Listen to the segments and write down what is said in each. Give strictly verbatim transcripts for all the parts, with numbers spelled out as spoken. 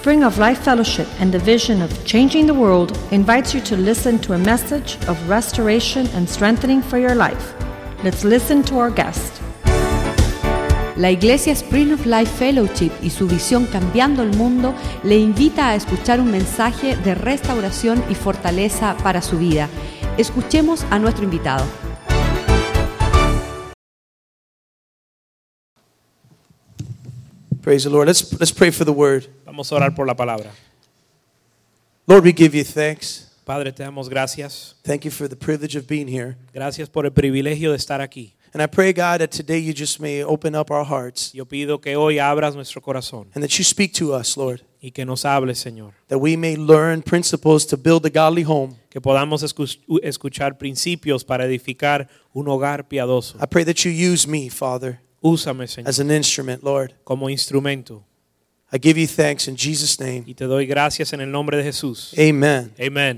Spring of Life Fellowship and the vision of changing the world invites you to listen to a message of restoration and strengthening for your life. Let's listen to our guest. La Iglesia Spring of Life Fellowship y su visión Cambiando el Mundo le invita a escuchar un mensaje de restauración y fortaleza para su vida. Escuchemos a nuestro invitado. Praise the Lord. Let's let's pray for the word. Vamos a orar por la palabra. Lord, we give you thanks. Padre, te damos gracias. Thank you for the privilege of being here. Gracias por el privilegio de estar aquí. And I pray, God, that today you just may open up our hearts. Yo pido que hoy abras nuestro corazón And that you speak to us, Lord. y que nos hables, Señor. That we may learn principles to build a godly home. Que podamos escu- escuchar principios para edificar un hogar piadoso. I pray that you use me, Father, Úsame, Señor, as an instrument, Lord. como instrumento. I give you thanks in Jesus' name. Y te doy gracias en el nombre de Jesús. Amen. Amen.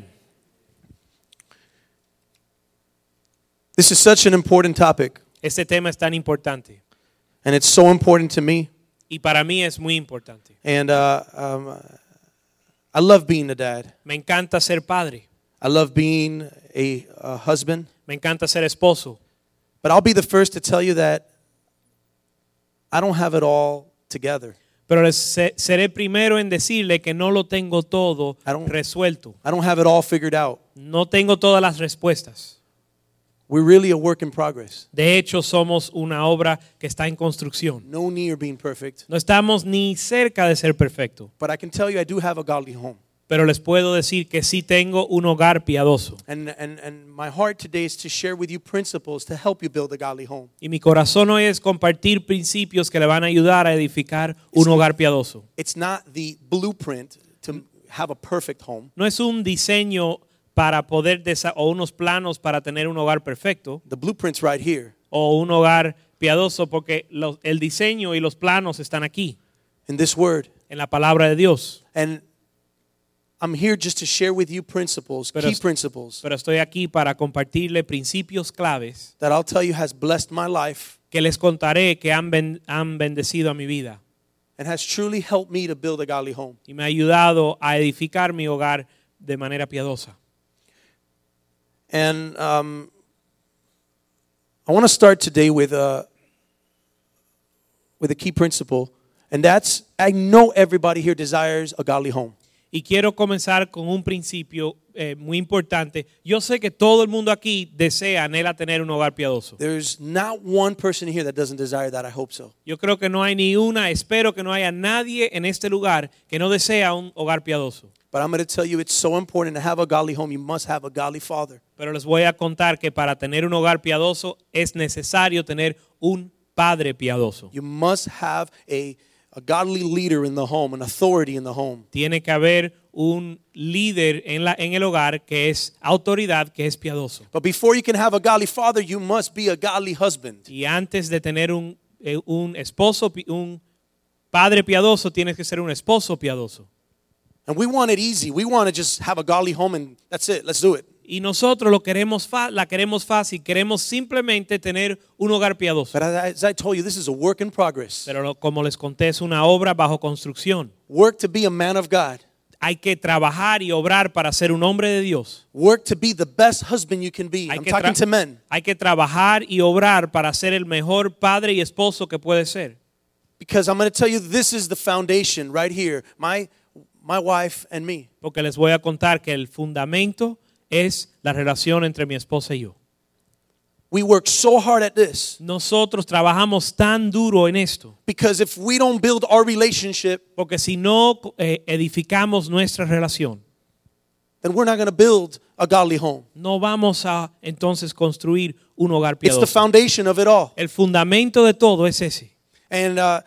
This is such an important topic. Este tema es tan importante And it's so important to me. y para mí es muy importante. And uh, um, I love being a dad. Me encanta ser padre. I love being a, a husband. Me encanta ser esposo. But I'll be the first to tell you that I don't have it all together. Pero les se- seré primero en decirle que no lo tengo todo I don't- resuelto. I don't have it all figured out. No tengo todas las respuestas. We're really a work in progress. De hecho, somos una obra que está en construcción. No near being perfect. No estamos ni cerca de ser perfecto. But I can tell you I do have a godly home. Pero les puedo decir que sí tengo un hogar piadoso. And, and, and my heart today is to share with you principles to help you build a godly home. Y mi corazón hoy es compartir principios que le van a ayudar a edificar un hogar piadoso. It's not the blueprint to have a perfect home. No es un diseño para poder desa- o unos planos para tener un hogar perfecto The blueprint's right here o un hogar piadoso, porque los- el diseño y los planos están aquí in this word. en la palabra de Dios. And I'm here just to share with you principles, Pero key es- principles Pero estoy aquí para compartirle principios claves that I'll tell you has blessed my life que les contaré que han, ben- han bendecido a mi vida and has truly helped me to build a godly home. y me ha ayudado a edificar mi hogar de manera piadosa. And um, I want to start today with a with a key principle, and that's I know everybody here desires a godly home. Y quiero comenzar con un principio eh, muy importante. Yo sé que todo el mundo aquí desea, anhela tener un hogar piadoso. There's not one person here that doesn't desire that. I hope so. Yo creo que no hay ni una, espero que no haya nadie en este lugar que no desea un hogar piadoso. But I'm going to tell you it's so important to have a godly home. You must have a godly father. Pero les voy a contar que para tener un hogar piadoso es necesario tener un padre piadoso. You must have a, a godly leader in the home, an authority in the home. Tiene que haber un líder en, la, en el hogar que es autoridad, que es piadoso. But before you can have a godly father, you must be a godly husband. Y antes de tener un, eh, un esposo, pi- un padre piadoso, tienes que ser un esposo piadoso. And we want it easy. We want to just have a godly home and that's it. Let's do it. Y nosotros lo queremos fa- la queremos fácil, queremos simplemente tener un hogar piadoso. But as I told you, this is a work in progress. Pero lo- como les conté, es una obra bajo construcción. Work to be a man of God. Hay que trabajar y obrar para ser un hombre de Dios. Work to be the best husband you can be. Hay I'm que, talking tra- to men. hay que trabajar y obrar para ser el mejor padre y esposo que puede ser. Because I'm going to tell you, this is the foundation right here. My, my wife and me. Porque les voy a contar que el fundamento es la relación entre mi esposa y yo. We work so hard at this. Nosotros trabajamos tan duro en esto. Because if we don't build our relationship, Porque si no eh, edificamos nuestra relación, then we're not going to build a godly home. no vamos a entonces construir un hogar It's the piadoso. foundation of it all. El fundamento de todo es ese. And, uh,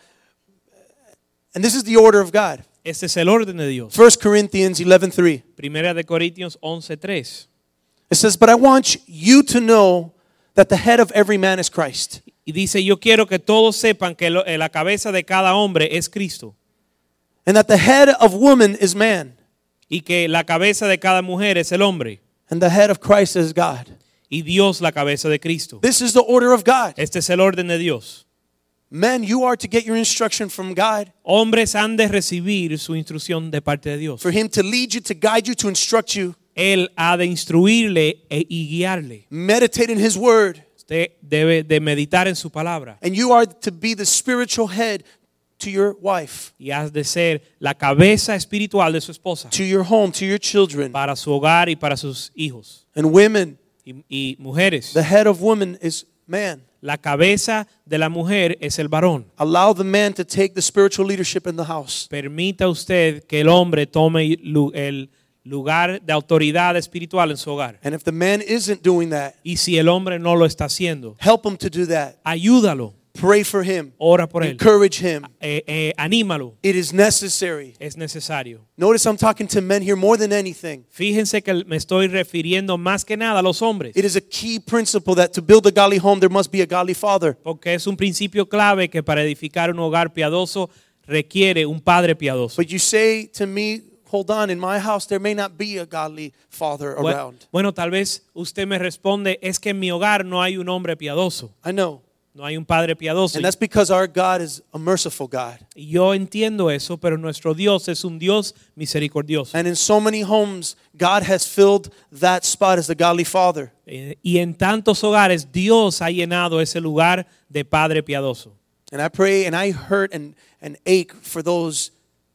and this is the order of God. Este es el orden de Dios. First Corinthians eleven three. Primera de Corintios once tres. It says, but I want you to know that the head of every man is Christ. Y dice, yo quiero que todos sepan que lo- eh, la cabeza de cada hombre es Cristo. And that the head of woman is man. Y que la cabeza de cada mujer es el hombre. And the head of Christ is God. Y Dios la cabeza de Cristo. This is the order of God. Este es el orden de Dios. Men, you are to get your instruction from God, Hombres han de recibir su instrucción de parte de Dios. for Him to lead you, to guide you, to instruct you. Él ha de instruirle e- y guiarle. Meditate in His Word. Usted debe de meditar en su palabra. And you are to be the spiritual head to your wife, Y has de ser la cabeza espiritual de su esposa. to your home, to your children. Para su hogar y para sus hijos. And women, Y, y mujeres. the head of woman is man. La cabeza de la mujer es el varón. Allow the man to take the spiritual leadership in the house. Permita usted que el hombre tome lu- el lugar de autoridad espiritual en su hogar. And if the man isn't doing that, Y si el hombre no lo está haciendo, help him to do that. ayúdalo, Pray for him. ora por él, Encourage him. eh, eh, anímalo, It is necessary. es necesario. Notice I'm talking to men here more than anything. Fíjense que me estoy refiriendo más que nada a los hombres, It is a key principle that to build a godly home, there must be a godly father. porque es un principio clave que para edificar un hogar piadoso requiere un padre piadoso. But you say to me, hold on, in my house there may not be a godly father Bueno, around. bueno, tal vez usted me responde, es que en mi hogar no hay un hombre piadoso, I know. no hay un padre piadoso. And that's because our God is a merciful God. Y yo entiendo eso, pero nuestro Dios es un Dios misericordioso. And in so many homes, God has filled that spot as the godly father. Eh, Y en tantos hogares Dios ha llenado ese lugar de padre piadoso. And I pray and I hurt and, and ache for those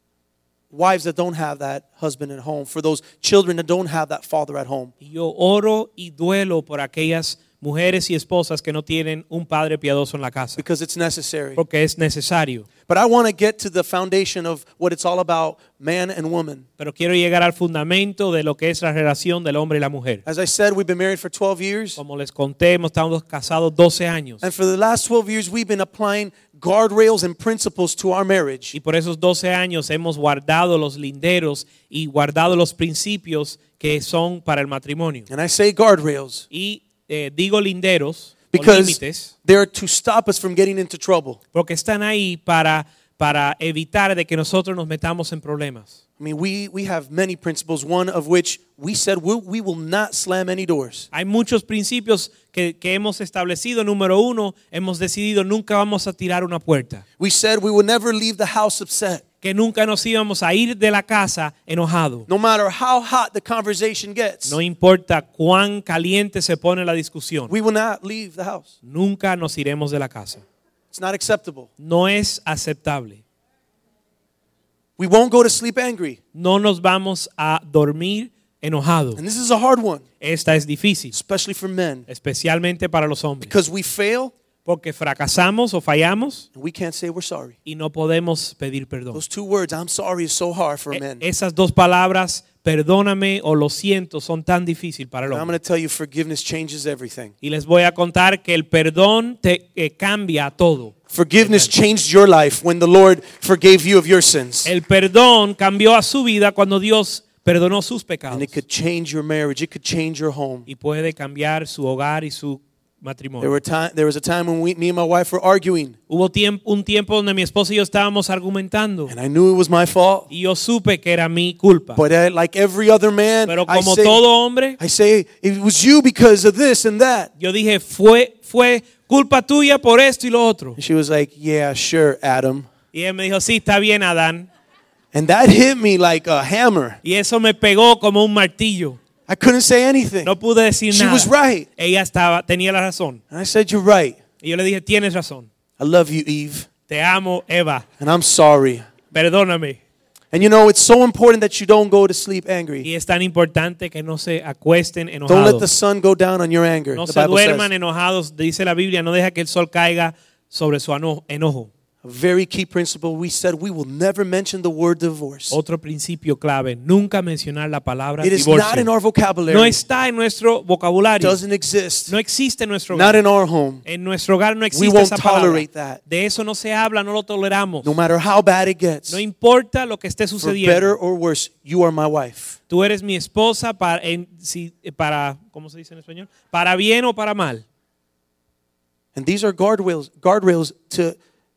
wives that don't have that husband at home, for those children that don't have that father at home. Y yo oro y duelo por aquellas mujeres y esposas que no tienen un padre piadoso en la casa, Because it's necessary. porque es necesario. But I want to get to the foundation of what it's all about, man and woman. Pero quiero llegar al fundamento de lo que es la relación del hombre y la mujer. As I said, we've been married for twelve years. Como les conté, hemos estado casados doce años. And for the last twelve years, we've been applying guardrails and principles to our marriage. Y por esos doce años hemos guardado los linderos y guardado los principios que son para el matrimonio. And I say guardrails Y eh, digo linderos o because límites they're to stop us from getting into trouble. porque están ahí para, para evitar de que nosotros nos metamos en problemas. I mean, we, we have many principles, one of which we said we'll, we will not slam any doors. Hay muchos principios que, que hemos establecido. Número uno, hemos decidido nunca vamos a tirar una puerta. We said we will never leave the house upset. Que nunca nos íbamos a ir de la casa enojado. No matter how hot the conversation gets, No importa cuán caliente se pone la discusión. we will not leave the house. Nunca nos iremos de la casa. It's not acceptable. No es aceptable. We won't go to sleep angry. No nos vamos a dormir enojados. And this is a hard one, Esta es difícil, especially for men, especialmente para los hombres. because we fail Porque fracasamos o fallamos and we can't say we're sorry. y no podemos pedir perdón. Those two words, I'm sorry, is so hard for E- men. Esas dos palabras, perdóname o lo siento, son tan difíciles para el And I'm hombre. going to tell you, forgiveness changes everything. Y les voy a contar que el perdón te eh, cambia todo. Forgiveness changed your life when the Lord forgave you of your sins. El perdón cambió a su vida cuando Dios perdonó sus pecados. And it could change your marriage. It could change your home. Y puede cambiar su hogar y su There, matrimonio. were time, there was a time when we, me and my wife were arguing. Hubo tiemp- un tiempo donde mi esposa y yo estábamos argumentando. And I knew it was my fault. Y yo supe que era mi culpa. But I, like every other man, Pero I como say, todo hombre, I say, it was you because of this and that. yo dije, fue, fue culpa tuya por esto y lo otro. And she was like, yeah, sure, Adam. Y él me dijo, sí, está bien, Adán. And that hit me like a hammer. Y eso me pegó como un martillo. I couldn't say anything. No pude decir She nada. was right. Ella estaba, tenía la razón. And I said, you're right. Y yo le dije, tienes razón. I love you, Eve. Te amo, Eva. And I'm sorry. Perdóname. And you know, it's so important that you don't go to sleep angry. Y es tan importante que no se acuesten Don't let the enojados. sun go down on your anger. No The se Bible duerman says. enojados. Dice la Biblia, no deja que el sol caiga sobre su ano- enojo. A very key principle. We said we will never mention the word divorce. Otro principio clave, nunca mencionar la palabra It is not in divorcio. our vocabulary. No está en nuestro It vocabulario. doesn't exist. No existe en nuestro Not hogar. in our home. En nuestro hogar no We existe won't esa palabra. tolerate that. De eso no se habla, no lo toleramos. No matter how bad it gets. No importa lo que esté For sucediendo. better or worse, you are my wife. Tú eres mi esposa para, en, si, para, ¿cómo se dice en español? Para bien o para mal. And these are guardrails, guardrails to,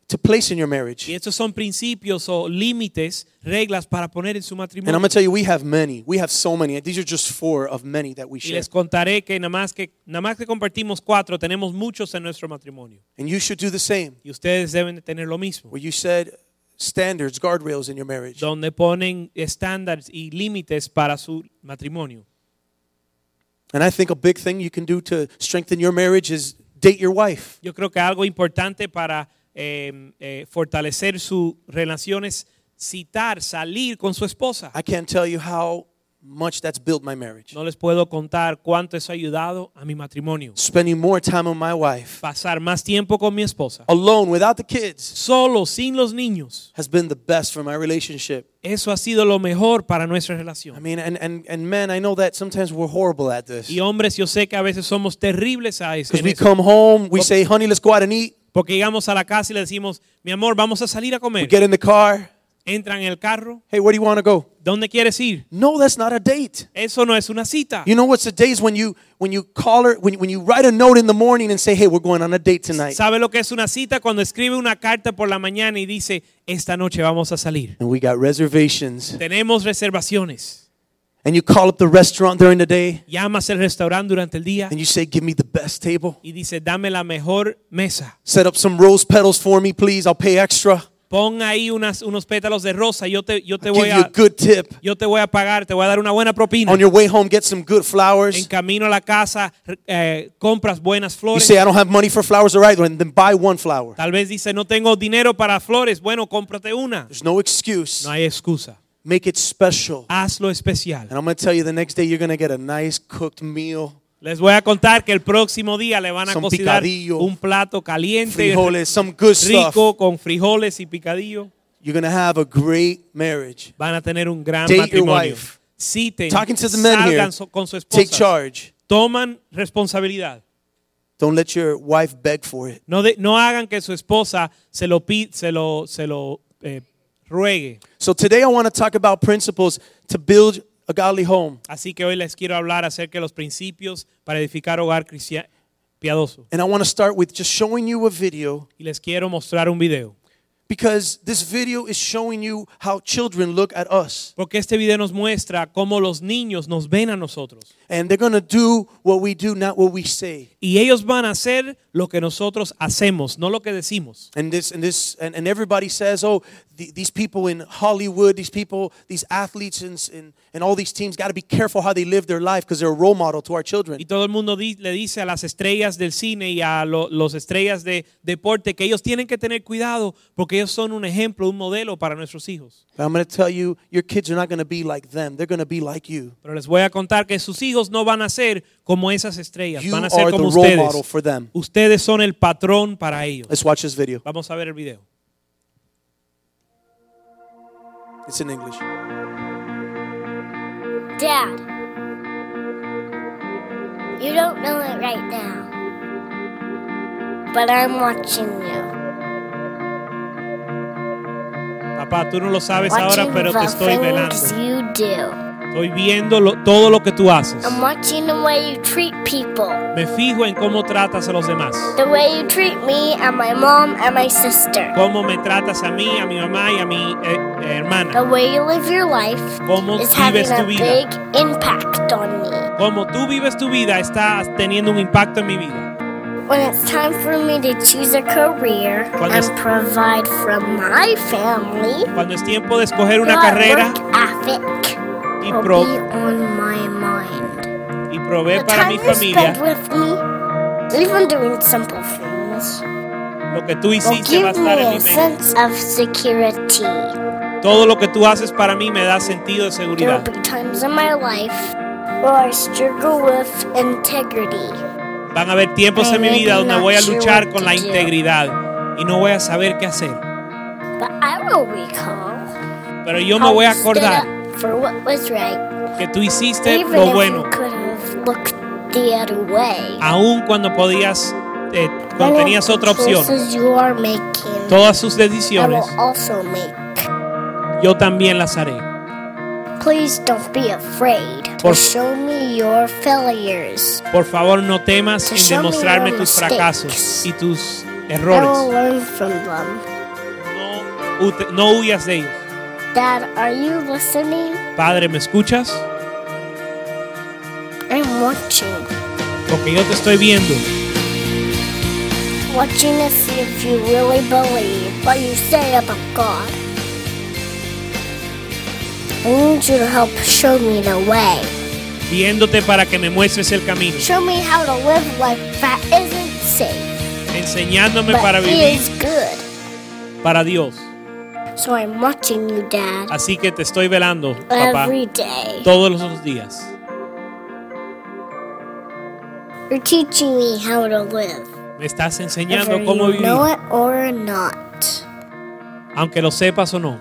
to place in your marriage. Y estos son principios o límites, reglas para poner en su And I'm matrimonio. going to tell you, we have many. We have so many. These are just four of many that we Y share. les contaré que nada más que nada más que compartimos cuatro, tenemos muchos en nuestro matrimonio. And you should do the same, Y ustedes deben de tener lo mismo, where you set standards, guardrails in your marriage. donde ponen estándares y límites para su matrimonio. And I think a big thing you can do to strengthen your marriage is date your wife. Yo creo que algo importante para eh, eh, fortalecer sus relaciones, citar, salir con su esposa. I can't tell you how much that's built my marriage. No les puedo contar cuánto eso ha ayudado a mi matrimonio. Spending more time with my wife, Pasar más tiempo con mi esposa, alone, without the kids, solo, sin los niños. has been the best for my relationship. Eso ha sido lo mejor para nuestra I relación. mean, and, and, and men, I know that sometimes we're horrible at this. Y hombres, yo sé que a veces somos terribles a eso. Because en we eso. come home, we say, honey, let's go out and eat. Porque llegamos a la casa y le decimos, mi amor, vamos a salir a We comer. get in the car. Entran en el carro. Hey, where do you want to go? ¿Dónde quieres ir? No, that's not a date. Eso no es una cita. You know what's a date is when you when you call her, when, when you write a note in the morning and say, hey, we're going on a date tonight. ¿Sabe lo que es una cita? Cuando escribe una carta por la mañana y dice, esta noche vamos a salir. And we got reservations. Tenemos reservaciones. And you call up the restaurant during the day Llamas al restaurante durante el día and you say, give me the best table. y dice, dame la mejor mesa. Set up some rose petals for me, please. I'll pay extra. Pon ahí unas, unos pétalos de rosa. Yo te, yo te I'll voy give you a a, good tip. yo te voy a pagar, te voy a dar una buena propina. On your way home, get some good En flowers. camino a la casa, eh, compras buenas You flores. say, I don't have money for flowers, all right, then buy one flower. Tal vez dice, no tengo dinero para flores. Bueno, cómprate una. There's no excuse. No hay excusa. Make it special. Hazlo especial. And I'm going to tell you, the next day you're going to get a nice cooked meal. Les voy a contar que el próximo día le van a Some cocinar picadillo, un plato caliente, Frijoles, some good stuff. rico, con frijoles y picadillo. You're going to have a great marriage. Van a tener un gran Date your matrimonio. wife. Citen, Talking to the men here. salgan so- con su Take esposa. charge. Toman responsabilidad. Don't let your wife beg for it. No, de- no hagan que su esposa se lo, pi- se lo, se lo eh, ruegue. So today I want to talk about principles to build a godly home. Así que hoy les quiero hablar acerca de los principios para edificar hogar cristiano piadoso. And I want to start with just showing you a video, Y les quiero mostrar un video. because this video is showing you how children look at us. Porque este video nos muestra cómo los niños nos ven a nosotros. And they're going to do what we do, not what we say. Y ellos van a hacer lo que nosotros hacemos, no lo que decimos. And this and this and, and everybody says, oh, the, these people in Hollywood, these people, these athletes and and, and all these teams got to be careful how they live their life because they're a role model to our children. Y todo el mundo di- le dice a las estrellas del cine y a lo- los estrellas de deporte que ellos tienen que tener cuidado porque ellos son un ejemplo, un modelo para nuestros hijos. But I'm going to tell you, your kids are not going to be like them. They're going to be like you. Pero les voy a contar que sus hijos no van a ser como esas estrellas, You van a ser are the como role model ustedes. for them. Ustedes son el patrón para ellos. Let's watch this video. Vamos a ver el video. It's in English. Dad, you don't know it right now, but I'm watching you. Papá, tú no lo sabes ahora, Watching pero te the estoy velando. things you do. Estoy viendo lo- todo lo que tú haces. I'm watching the way you treat people. Me fijo en cómo tratas a los demás. The way you treat me and my mom and my sister. Cómo me tratas a mí, a mi mamá y a mi eh, eh, hermana. The way you live your life Cómo is having vives tu a vida. big impact on me. Cómo tú vives tu vida está teniendo un impacto en mi vida. When it's time for me to choose a career Cuando es- and provide for my family, Cuando es tiempo de escoger una your carrera work ethic y, will pro- be on my mind. y proveer The para mi time you familia, spend with me, even doing simple things, lo que tú will hiciste va a give estar en me mi a mente. sense of security. Todo lo que tú haces para mí me da sentido de There seguridad. will be times in my life where I struggle with integrity. Van a haber tiempos en mi vida donde voy a luchar con la integridad y no voy a saber qué hacer. But I will recall Pero yo me how voy a you stood acordar up for what was right, que tú hiciste even lo if bueno, you could have looked the other way. aun cuando podías, eh, cuando Any tenías otra opción. choices you are making, Todas sus I will decisiones, also make. yo también las haré. Please don't be afraid to Por- show me your failures. Por favor, no temas To en show me demostrarme your tus mistakes. fracasos y tus I will errores. learn from them. ute- no huyas de ellos. Dad, are you listening? Padre, ¿me escuchas? I'm watching. Porque yo te estoy viendo. Watching to see if you really believe what you say about God. I need you to help show me the way. Viéndote para que me muestres el camino. Show me how to live life that isn't safe, Enseñándome but para vivir is good. para Dios. So I'm watching you, Dad, Así que te estoy velando, papá, every day. todos los días. You're teaching me how to live, Me estás whether enseñando cómo you vivir, know it or not. aunque lo sepas o no.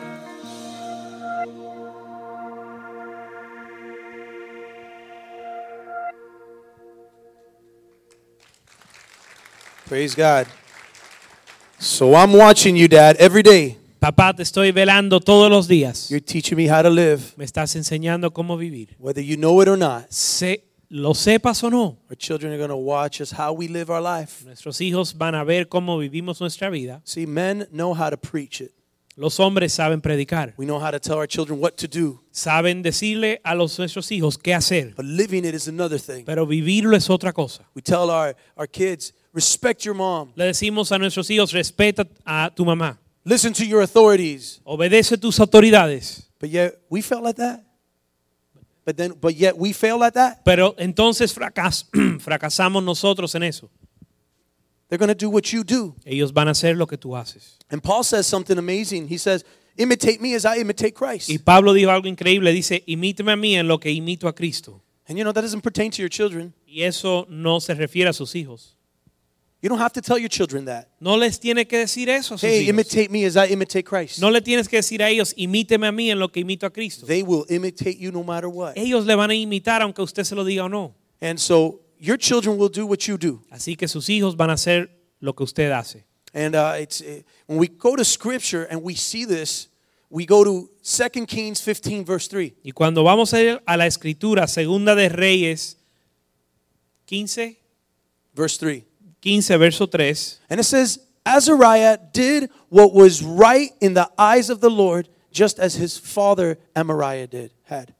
Praise God. So I'm watching you, Dad, every day. Papá, te estoy velando todos los días. You're teaching me how to live, Me estás enseñando cómo vivir. whether you know it or not. Se, lo sepas o no, Our children are going to watch us how we live our life. nuestros hijos van a ver cómo vivimos nuestra vida. See, men know how to preach it. Los hombres saben predicar, We know how to tell our children what to do, saben decirle a los, nuestros hijos qué hacer, but living it is another thing. pero vivirlo es otra cosa. We tell our, our kids, respect your mom, Le decimos a nuestros hijos, respeta a tu mamá, listen to your authorities. obedece tus autoridades. But yet we felt like that. But then, but yet we fail at that. Pero entonces fracas, fracasamos nosotros en eso. They're going to do what you do. Ellos van a hacer lo que tú haces. And Paul says something amazing. He says, imitate me as I imitate Christ. Y Pablo dijo algo increíble, dice, imíteme a mí en lo que imito a Cristo. And you know, that doesn't pertain to your children. Y eso no se refiere a sus hijos. You don't have to tell your children that. No les tiene que decir eso a sus Hey, hijos. imitate me as I imitate Christ. No le tienes que decir a ellos, imíteme a mí en lo que imito a Cristo. They will imitate you no matter what. Ellos le van a imitar aunque usted se lo diga o no. And so your children will do what you do. Así que sus hijos van a hacer lo que usted hace. And uh, it's uh, when we go to Scripture and we see this, we go to Second Kings fifteen, verse three. Y cuando vamos a ir a la escritura, segunda de Reyes quince, Verse three. quince, verso tres, And it says, Azariah did what was right in the eyes of the Lord, just as his father Amariah did, had.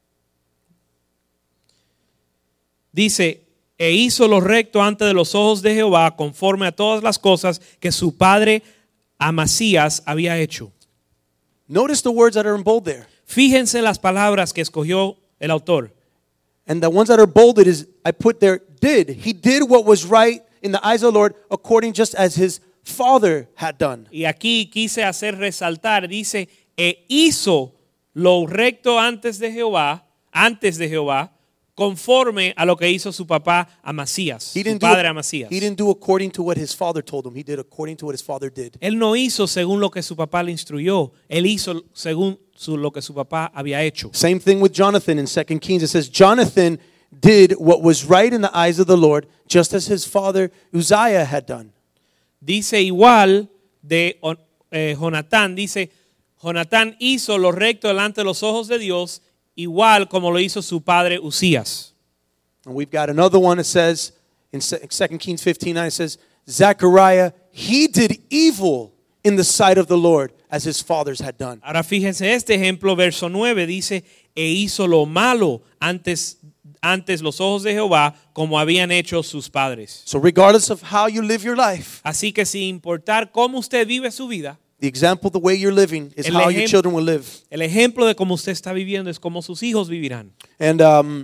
dice, e hizo lo recto ante de los ojos de Jehová, conforme a todas las cosas que su padre Amasías había hecho. Notice the words that are in bold there. Fíjense las palabras que escogió el autor. And the ones that are bolded is, I put there, did. He did what was right in the eyes of the Lord, according just as his father had done. Y aquí quise hacer resaltar, dice, e hizo lo recto antes de Jehová, antes de Jehová, conforme a lo que hizo su papá Amasías, He su didn't, do, padre Amasías. he didn't do according to what his father told him. He did according to what his father did. Él no hizo según lo que su papá le instruyó, él hizo según su, lo que su papá había hecho. Same thing with Jonathan in Second Kings. It says, Jonathan did what was right in the eyes of the Lord, just as his father Uzziah had done. Dice igual de eh, Jonatán, dice, Jonatán hizo lo recto delante de los ojos de Dios, igual como lo hizo su padre Usías. And we've got another one that says, in Second Kings fifteen nine, it says, Zechariah, he did evil in the sight of the Lord, as his fathers had done. Ahora fíjense este ejemplo, verso nueve, dice, e hizo lo malo antes, antes los ojos de Jehová, como habían hecho sus padres. So regardless of how you live your life, Así que sin importar cómo usted vive su vida, the example, the way you're living, is El how your ejem- children will live. el ejemplo de cómo usted está viviendo es como sus hijos vivirán. And um,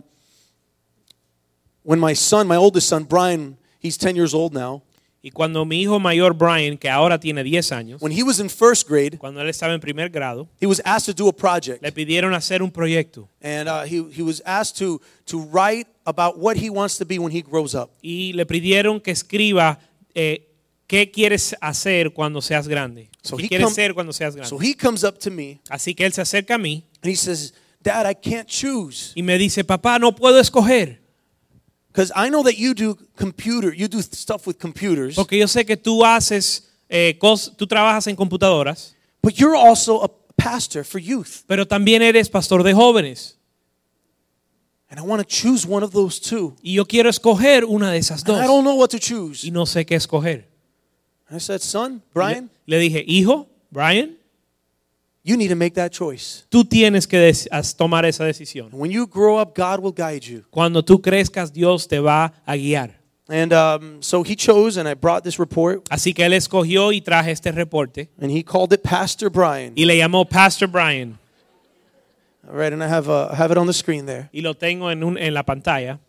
when my son, my oldest son, Brian, he's ten years old now. Y cuando mi hijo mayor Brian, que ahora tiene diez años, When he was in first grade, cuando él estaba en primer grado, he was asked to do a project. le pidieron hacer un proyecto And uh, he, he was asked to, to write about what he wants to be when he grows up. y le pidieron que escriba eh, qué quieres hacer cuando seas grande. So ¿Qué he quieres come- ser cuando seas grande? So he comes up to me Así que él se acerca a mí and he says, Dad, I can't choose. y me dice, papá, no puedo escoger. Because I know that you do computer, you do stuff with computers, Porque yo sé que tú haces, eh, cos- tú trabajas en computadoras, but you're also a pastor for youth. pero también eres pastor de jóvenes. And I want to choose one of those two. Y yo quiero escoger una de esas And I dos. don't know what to choose. Y no sé qué escoger. I said, son, Le, Brian, le dije, hijo, Brian, You need to make that choice. tú tienes que des- as- tomar esa decisión. And when you grow up, God will guide you. Cuando tú crezcas, Dios te va a guiar. And um, so he chose, and I brought this report, Así que él escogió y traje este reporte and he called it Pastor Brian. y le llamó Pastor Brian. All right, and I have, uh, I have it on the screen there. Y lo tengo en, un, en la pantalla.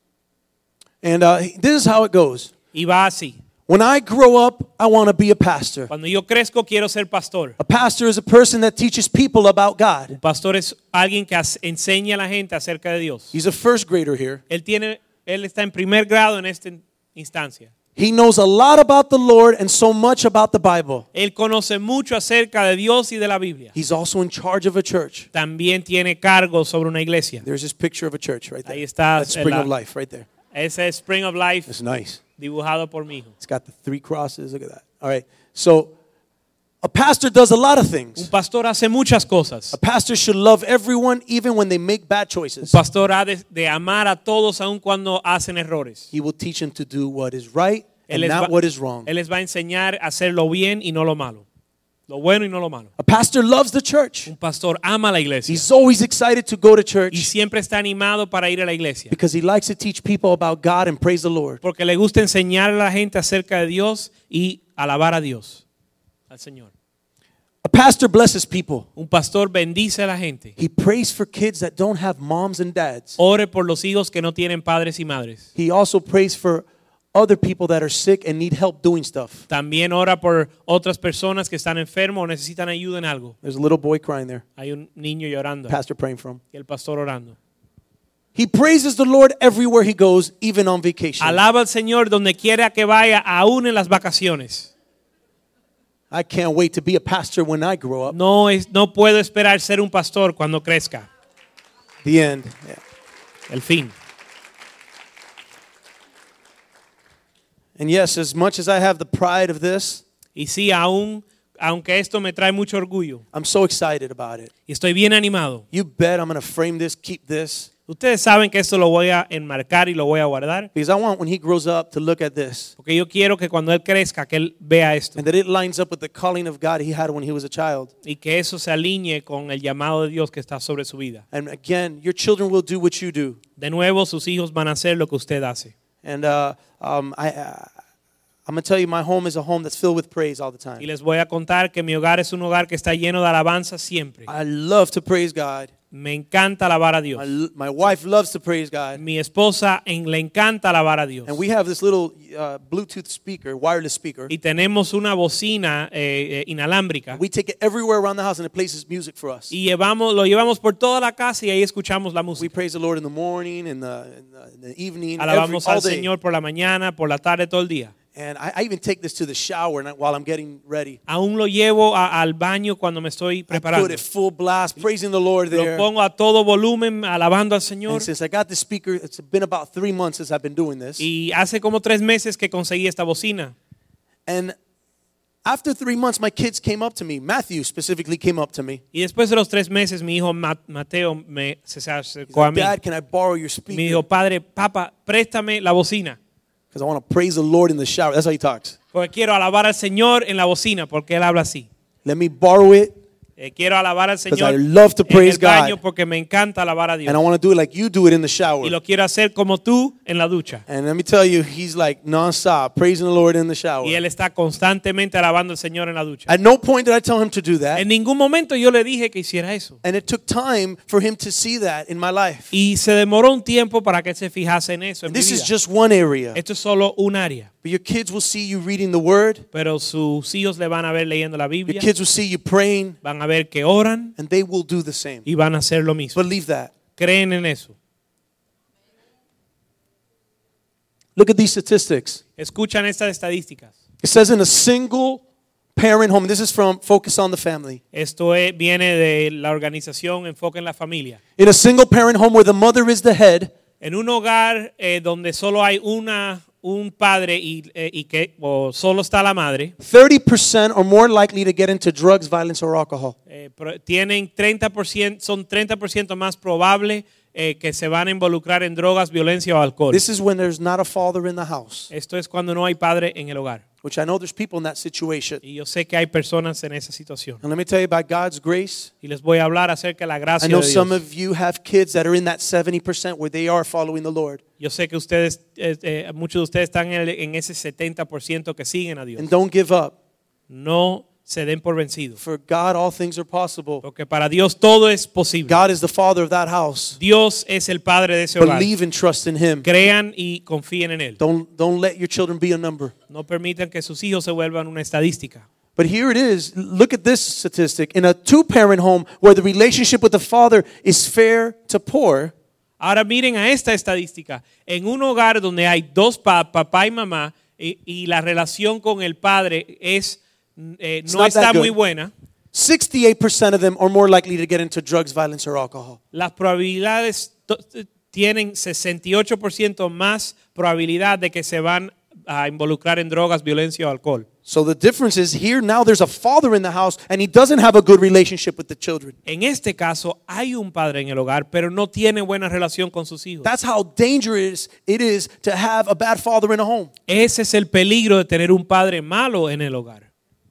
And uh, this is how it goes. Y va así. When I grow up, I want to be a pastor. Cuando yo crezco, quiero ser pastor. A pastor is a person that teaches people about God. Un pastor es alguien que as- enseña a la gente acerca de Dios. He's a first grader here. Él, tiene, él está en primer grado en esta instancia. He knows a lot about the Lord and so much about the Bible. Él conoce mucho acerca de Dios y de la Biblia. He's also in charge of a church. También tiene cargo sobre una iglesia. There's this picture of a church right there. Ahí está That's Spring la- of Life right there. Ese es Spring of Life It's nice. dibujado por mi hijo. It's got the three crosses. Look at that. All right. So a pastor does a lot of Un things. pastor hace muchas cosas. A pastor should love everyone even when they make bad Un choices. pastor ha de, de amar a todos aun cuando hacen errores. He will teach them to do what is right Él and les, not va, what is wrong. él les va a enseñar a hacer lo bien y no lo malo. Lo bueno y no lo malo. A pastor loves the church. Un pastor ama la iglesia. He's always excited to go to Y church siempre está animado para ir a la iglesia. because he likes to teach people about God and praise the Lord. Porque le gusta enseñar a la gente acerca de Dios y alabar a Dios, al Señor. A pastor blesses people. Un pastor bendice a la gente. He prays for kids that don't have moms and dads. Ore por los hijos que no tienen padres y madres. He also prays for other people that are sick and need help doing stuff. También ora por otras personas que están enfermos o necesitan ayuda en algo. There's a little boy crying there. Hay un niño llorando Pastor praying for him. y el pastor orando. He praises the Lord everywhere he goes, even on vacation. Alaba al Señor donde quiera que vaya, aún en las vacaciones. I can't wait to be a pastor when I grow up. No, es, no puedo esperar ser un pastor cuando crezca. The end. Yeah. El fin. And yes, as much as I have the pride of this, Y sí, aún, aunque esto me trae mucho orgullo, I'm so excited about it. y estoy bien animado. You bet I'm going to frame this, keep this, Ustedes saben que esto lo voy a enmarcar y lo voy a guardar, because I want when he grows up to look at this porque yo quiero que cuando él crezca, que él vea esto and that it lines up with the calling of God he had when he was a child. y que eso se alinee con el llamado de Dios que está sobre su vida. And again, your children will do what you do. De nuevo, sus hijos van a hacer lo que usted hace. And uh, um, I, uh, I'm going to tell you, my home is a home that's filled with praise all the Y time. les voy a contar que mi hogar es un hogar que está lleno de alabanza siempre. I love to praise God. Me encanta alabar a Dios. My, my wife loves to praise God. Mi esposa en- le encanta alabar a Dios. And we have this little uh, Bluetooth speaker, wireless speaker. Y tenemos una bocina eh, eh, inalámbrica. We take it everywhere around the house and it plays music for us. Y llevamos, lo llevamos por toda la casa y ahí escuchamos la We música. praise the Lord in the morning, in the, in the, in the evening, every, Alabamos all al day. Señor por la mañana, por la tarde, todo el día. And I, I even take this to the shower and I- while I'm getting ready. Aún lo llevo a- al baño cuando me estoy I preparando. put it full blast, praising the Lord Lo there. pongo a todo volumen, alabando al Señor. And since I got this speaker, it's been about three months since I've been doing this. Y hace como tres meses que conseguí esta bocina. And after three months, my kids came up to me. Matthew specifically came up to me. Y después de los tres meses, mi hijo Ma- Mateo me, se se He's acercó a like, mí. Dad, can I borrow your Me speaker? dijo, padre, papá, préstame la bocina. Because I want to praise the Lord in the shower. That's how he talks. Porque quiero alabar al Señor en la bocina, porque él habla así. Let me borrow it, Eh, quiero alabar al because Señor I love to en praise el baño God. porque me encanta alabar a Dios. And I want to do it like you do it in the Y shower. lo quiero hacer como tú en la ducha. And let me tell you, he's like nonstop praising the Lord in the shower. Y él está constantemente alabando al Señor en la ducha. At no point did I tell him to do that. En ningún momento yo le dije que hiciera eso. And it took time for him to see that in my life. Y se demoró un tiempo para que él se fijase en eso. En And mi this is vida. just one area. Esto es solo un área. But your kids will see you reading the word. Pero sus hijos le van a ver leyendo la Your Biblia. kids will see you praying. Van a ver que oran And they will do the same. y van a hacer lo mismo. Believe that. Creen en eso. Look at these statistics. Escuchan estas estadísticas. It says in a single parent home, this is from Focus on the Family. Esto es- viene de la organización Enfoque en la Familia. In a single parent home where the mother is the head, En un hogar eh, donde solo hay una, un padre y, eh, y que o solo está la madre, thirty percent are more likely to get into drugs, violence, or alcohol. eh, pro- tienen treinta por ciento, son treinta por ciento más probable eh, que se van a involucrar en drogas, violencia o alcohol. This is when there's not a father in the house. Esto es cuando no hay padre en el hogar. which I know there's people in that situation. Y yo sé que hay personas en esa situación. And let me tell you, by God's grace, Y les voy a hablar acerca de la gracia I know de some Dios. of you have kids that are in that seventy percent where they are following the Lord. Yo sé que ustedes, eh, eh, muchos de ustedes están en, el- en ese setenta por ciento que siguen a Dios. And don't give up. No se den por vencidos. For God, all things are possible. Porque para Dios todo es posible. God is the father of that house. Dios es el padre de ese hogar. Believe and trust in Him. Crean y confíen en Él. Don't, don't let your children be a number. No permitan que sus hijos se vuelvan una estadística. But here it is. Look at this statistic. In a two-parent home where the relationship with the father is fair to poor, Ahora miren a esta estadística. En un hogar donde hay dos pa- papá y mamá y, y la relación con el padre es eh, It's no not está that muy good. buena, sixty-eight percent of them are more likely to get into drugs, violence, or alcohol. las probabilidades to- tienen sesenta y ocho por ciento más probabilidad de que se van a involucrar en drogas, violencia o alcohol. So the difference is here now there's a father in the house and he doesn't have a good relationship with the children. En este caso hay un padre en el hogar, pero no tiene buena relación con sus hijos. That's how dangerous it is to have a bad father in a home. Ese es el peligro de tener un padre malo en el hogar.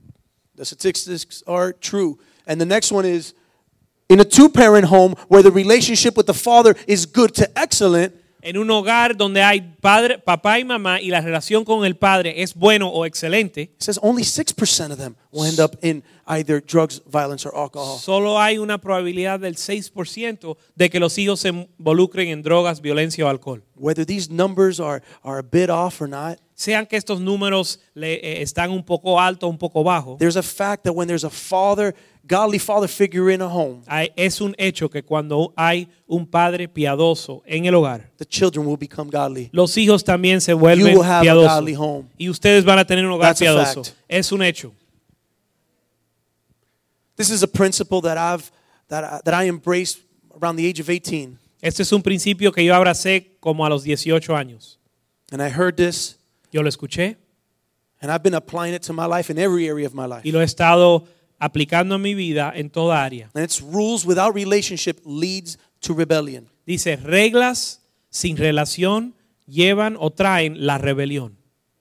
The statistics are true. And the next one is in a two-parent home where the relationship with the father is good to excellent, En un hogar donde hay padre, papá y mamá y la relación con el padre es bueno o excelente, it says only six percent of them will end up in either drugs, violence, or alcohol. solo hay una probabilidad del seis por ciento de que los hijos se involucren en drogas, violencia o alcohol. Whether these numbers are, are a bit off or not, Sean que estos números le, eh, están un poco altos, un poco bajos, there's a fact that when there's a father, godly father figure in a home, hay- es un hecho que cuando hay un padre piadoso en el hogar, the children will become godly. los hijos también se You vuelven will have a piadosos. godly home. Y ustedes van a tener un hogar That's a piadoso. fact. Es un hecho. This is a principle that I've that I, that I embraced around the age of eighteen. Este es un principio que yo abracé como a los dieciocho años. And I heard this Yo lo escuché and I've been applying it to my life in every area of my life. y lo he estado aplicando en mi vida en toda área. And it's rules without relationship leads to rebellion. Dice, reglas sin relación llevan o traen la rebelión.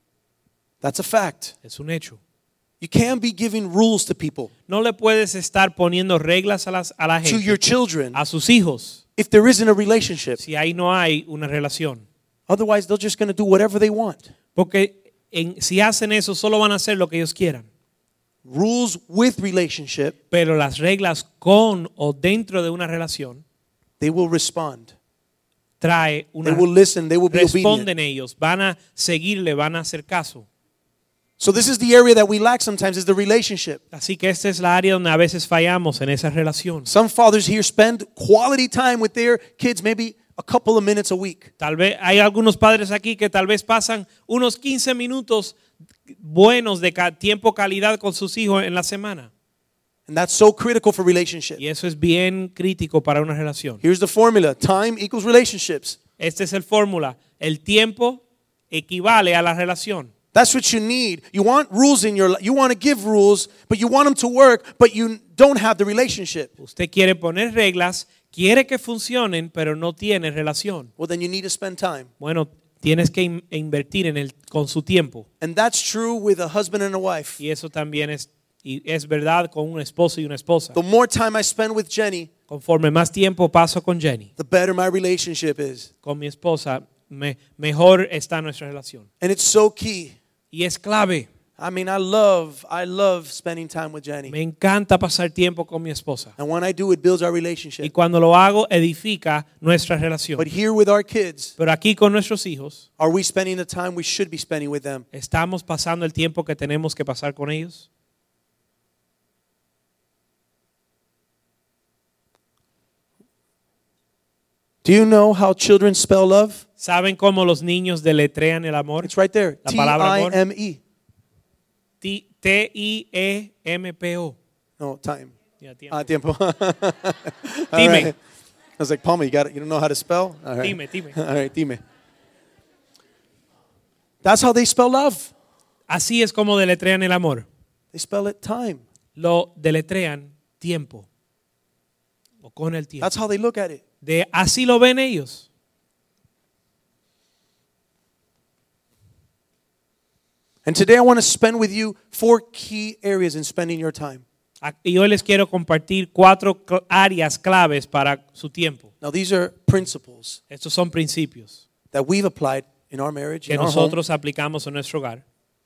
That's a fact. Es un hecho. You can't be giving rules to people, No le puedes estar poniendo reglas a, las, a la to gente, your children, a sus hijos, if there isn't a relationship. si ahí no hay una relación. Otherwise, they're just going to do whatever they want. Porque en- si hacen eso, solo van a hacer lo que ellos quieran. Rules with relationship, Pero las reglas con o dentro de una relación they will respond. trae una They will listen. They will be obedient. responden ellos, van a seguirle, van a hacer caso. So this is the area that we lack sometimes is the relationship. Así que esta es la área donde a veces fallamos en esa relación. Some fathers here spend quality time with their kids, maybe a couple of minutes a week. Tal vez hay algunos padres aquí que tal vez pasan unos quince minutos buenos de ca- tiempo calidad con sus hijos en la semana. And that's so critical for relationship. Y eso es bien crítico para una relación. Here's the formula. Time equals relationships. Esta es el fórmula. El tiempo equivale a la relación. That's what you need. You want rules in your life. You want to give rules, but you want them to work, but you don't have the relationship. Usted quiere poner reglas, quiere que funcionen, pero no tiene relación. Well, then you need to spend time. Bueno, tienes que in- invertir en el, con su tiempo. And that's true with a husband and a wife. Y eso también es, y es verdad con un esposo y una esposa. The more time I spend with Jenny, Conforme más tiempo paso con Jenny, the better my relationship is. con mi esposa, me- mejor está nuestra relación. And it's so key. Y es clave. I mean, I love, I love spending time with Jenny. Me encanta pasar tiempo con mi esposa. And when I do, it builds our Y relationship. cuando lo hago, edifica nuestra relación. But here with our kids, Pero aquí con nuestros hijos, are we spending the time we should be spending with them? ¿estamos pasando el tiempo que tenemos que pasar con ellos? Do you know how children spell love? ¿Saben cómo los niños deletrean el amor? It's right there. La T palabra I amor. M E. T- T I E M P O. No, time. Ya, tiempo. Ah, tiempo. All Dime. right. I was like, Palmer, you got it. You don't know how to spell? All right. Dime, dime. All right, dime. That's how they spell love. Así es como deletrean el amor. They spell it time. Lo deletrean tiempo. O con el tiempo. That's how they look at it. De, así lo ven ellos. And today I want to spend with you four key areas in spending your time. Y hoy les quiero compartir cuatro cl- áreas claves para su tiempo. Now these are principles Estos son principios that we've applied in our marriage, que in our home. nosotros aplicamos en nuestro hogar.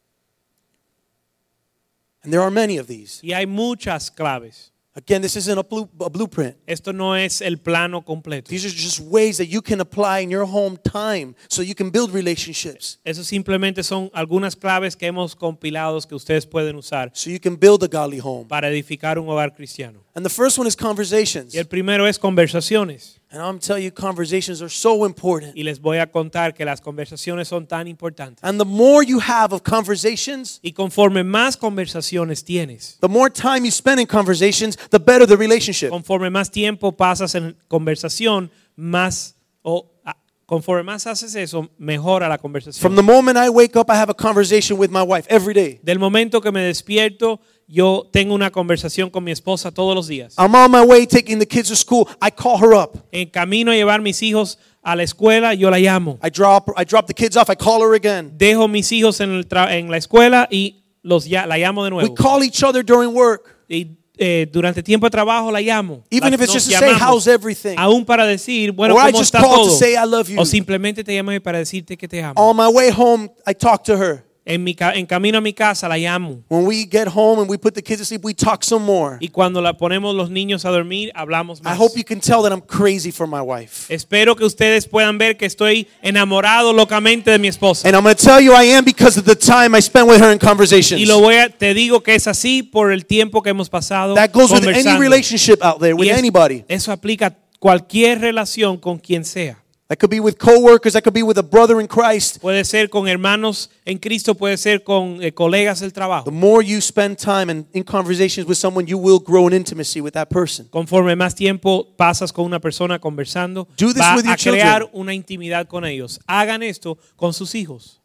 And there are many of these. Y hay muchas claves. Again, this isn't a, blue, a blueprint. Esto no es el plano completo. These are just ways that you can apply in your home time so you can build relationships, Eso simplemente son algunas claves que hemos compilado que ustedes pueden usar so you can build a godly home. para edificar un hogar cristiano. And the first one is conversations. Y el primero es conversaciones. And I'm telling you, conversations are so important. Y les voy a contar que las conversaciones son tan importantes. And the more you have of conversations, Y conforme más conversaciones tienes, the more time you spend in conversations, the better the relationship. conforme más tiempo pasas en conversación, más o a- conforme más haces eso, mejora la From conversación. the moment I wake up, I have a conversation with my wife every day. Del momento que me despierto, yo tengo una conversación con mi esposa todos los días. I'm on my way taking the kids to school. I call her up. En camino a llevar mis hijos a la escuela, yo la llamo. I drop I drop the kids off. I call her again. Dejo mis hijos en, el tra- en la escuela y los ya- la llamo de We nuevo. call each other during work. Y eh, durante tiempo de trabajo la llamo. Even La- if it's nos just to say, llamamos, how's everything? aún para decir, bueno, Or I ¿cómo just está call to todo? say I love you. O simplemente te llamo para decirte que te amo. On my way home, I talk to her. En, mi, ca- en camino a mi casa la llamo. When we get home and we put the kids to sleep, we talk some more. Y cuando la ponemos los niños a dormir, hablamos I más. hope you can tell that I'm crazy for my wife. Espero que ustedes puedan ver que estoy enamorado locamente de mi esposa. And I'm going to tell you I am because of the time I spent with her in conversations. Y lo voy a, te digo que es así por el tiempo que hemos pasado That goes with any conversando. relationship out there, with Y es- anybody. Eso aplica a cualquier relación con quien sea. That could be with coworkers, that could be with a brother in Christ. Puede ser con hermanos en Cristo, puede ser con eh, colegas del The trabajo. more you spend time in, in conversations with someone, you will grow in intimacy with that person. Conforme más tiempo pasas con una persona conversando, Do this va with your a crear children. una intimidad con ellos. Hagan esto con sus hijos.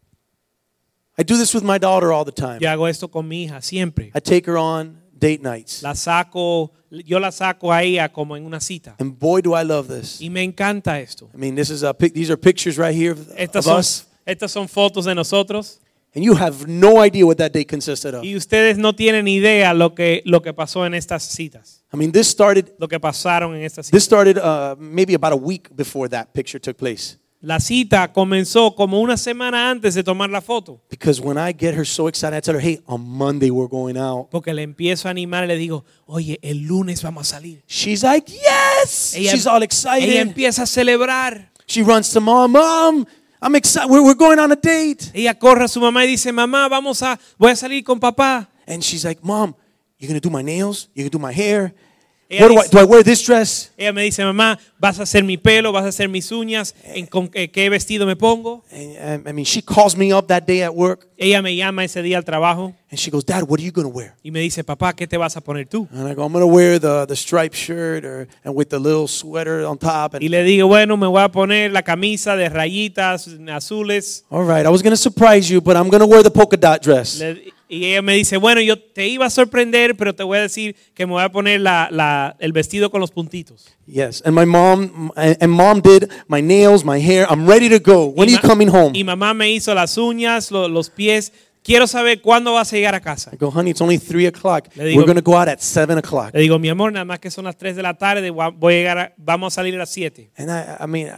I do this with my daughter all the time. Yo hago esto con mi hija siempre. I take her on date nights. La saco, yo la saco a ella como en una cita. And boy, do I love this. Y me encanta esto. I mean, this is a pic- these are pictures right here of, Estas of son, us. estas son fotos de nosotros. And you have no idea what that date consisted of. Y ustedes no tienen idea lo que, lo que pasó en estas citas. I mean, this started Lo que pasaron en estas this citas. started uh, maybe about a week before that picture took place. La cita comenzó como una semana antes de tomar la foto. Because when I get her so excited, I tell her, hey, on Monday we're going out. Porque le empiezo a animar y le digo, oye, el lunes vamos a salir. She's like, yes! Ella, She's all ella excited. empieza a celebrar. She runs to mom, mom, I'm excited. We're, we're going on a date. Ella corre a su mamá y dice, mamá, vamos a, voy a salir con papá. And she's like, mom, you're going to do my nails? You're going to do my hair? Ella What do I, dice- do I wear this dress? Ella me dice, mamá, vas a hacer mi pelo, vas a hacer mis uñas, ¿en con qué, qué vestido me pongo? And, um, I mean, she calls me up that day at work. Ella me llama ese día al trabajo And she goes, Dad, what are you going to wear? y me dice, papá, ¿qué te vas a poner tú? And I go, I'm going to wear the, the striped shirt or, and with the little sweater on top. Y And, le digo, bueno, me voy a poner la camisa de rayitas azules. all right, I was going to surprise you, but I'm going to wear the polka dot dress. Le- y ella me dice, bueno, yo te iba a sorprender, pero te voy a decir que me voy a poner la, la, el vestido con los puntitos. Yes, and my mom, and mom did my nails, my hair. I'm ready to go. When are Y you ma- coming home? Y mamá me hizo las uñas, lo- los pies. Quiero saber cuándo vas a llegar a casa. I go, honey, it's only three o'clock. Le digo- We're going to go out at seven o'clock. Le digo, mi amor, nada más que son las tres de la tarde, voy a voy a llegar a- vamos a salir a las siete. And I, I mean,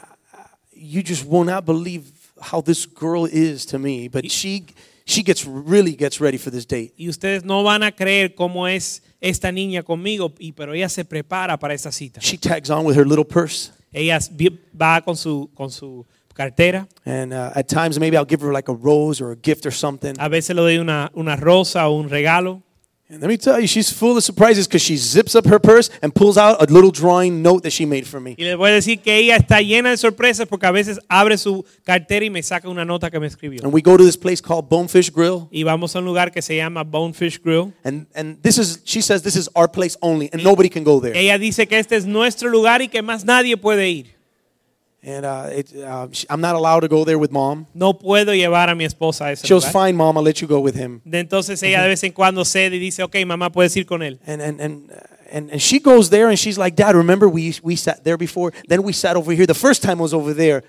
you just will not believe how this girl is to me. But she, she gets really gets ready for this date. Y ustedes no van a creer cómo es esta niña conmigo, y, pero ella se prepara para esta cita. She tags on with her little purse. Ella vi- va con su, con su cartera. And uh, at times, maybe I'll give her like a rose or a gift or something. A veces le doy una, una rosa o un regalo. And let me tell you, she's full of surprises because she zips up her purse and pulls out a little drawing note that she made for me. Y les voy a decir que ella está llena de sorpresas porque a veces abre su cartera y me saca una nota que me escribió. And we go to this place called Bonefish Grill. Y vamos a un lugar que se llama Bonefish Grill. And, and this is, she says, this is our place only, and nobody can go there. Ella dice que este es nuestro lugar y que más nadie puede ir. And uh, it, uh, she, I'm not allowed to go there with mom. No puedo llevar a mi esposa a ese She goes, lugar. fine, mom, I'll let you go with him. De entonces ella de vez en cuando cede y dice, ok, mamá, puedes ir con él. And, and, and, uh, and, and she goes there and she's like, Dad, remember we, we sat there before? Then we sat over here. The first time was over there.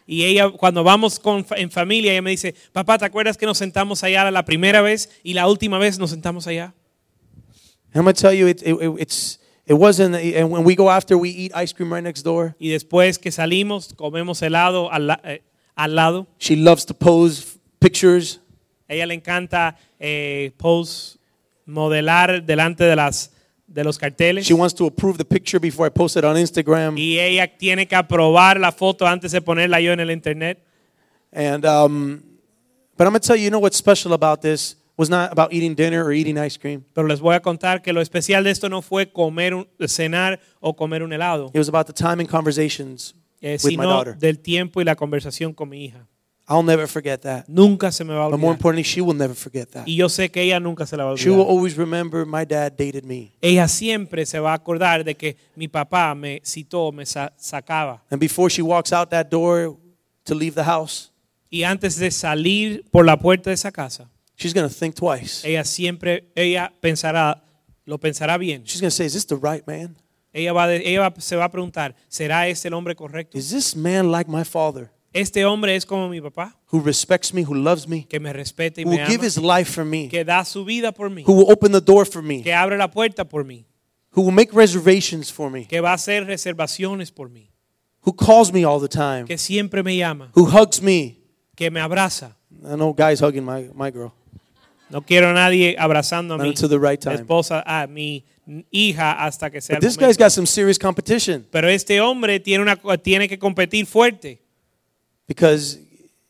Y ella, cuando vamos con, en familia, ella me dice, papá, ¿te acuerdas que nos sentamos allá la primera vez y la última vez nos sentamos allá? And I'm going to tell you, it, it, it's, it wasn't, and when we go after, we eat ice cream right next door. Y después que salimos, comemos helado al, la- eh, al lado. She loves to pose pictures. A ella le encanta eh, pose, modelar delante de las de los carteles. She wants to approve the picture before I post it on Instagram. Y ella tiene que aprobar la foto antes de ponerla yo en el internet. And, um, but I'm going to tell you, you know what's special about this was not about eating dinner or eating ice cream. Pero les voy a contar que lo especial de esto no fue comer un, cenar o comer un helado, It was about the time and conversations eh, with my sino daughter. del tiempo y la conversación con mi hija. I'll never forget that. Nunca se me va a But more olvidar. importantly, she will never forget that. Y yo sé que ella nunca se la va a She will olvidar. always remember my dad dated me. Ella siempre se va a acordar de que mi papá me citó, me sa- sacaba. And before she walks out that door to leave the house, Y antes de salir por la puerta de esa casa, she's going to think twice. ella siempre, ella pensará, lo pensará bien. She's going to say, is this the right man? Ella, va de- ella va- se va a preguntar, ¿será este el hombre correcto? Is this man like my father Este hombre es como mi papá, who respects me, who loves me, que me respeta y who me will give ama, his life for me, que da su vida por mí, who will open the door for me, que abre la puerta por mí, who will make reservations for me, que va a hacer reservaciones por mí, who calls me all the time, que siempre me llama, who hugs me? que me abraza? I know guys hugging my, my girl. No quiero a nadie abrazando a Not mi until the right time. esposa, a mi hija hasta que sea But el this guy's momento. got some serious competition Pero este hombre tiene, una, tiene que competir fuerte, because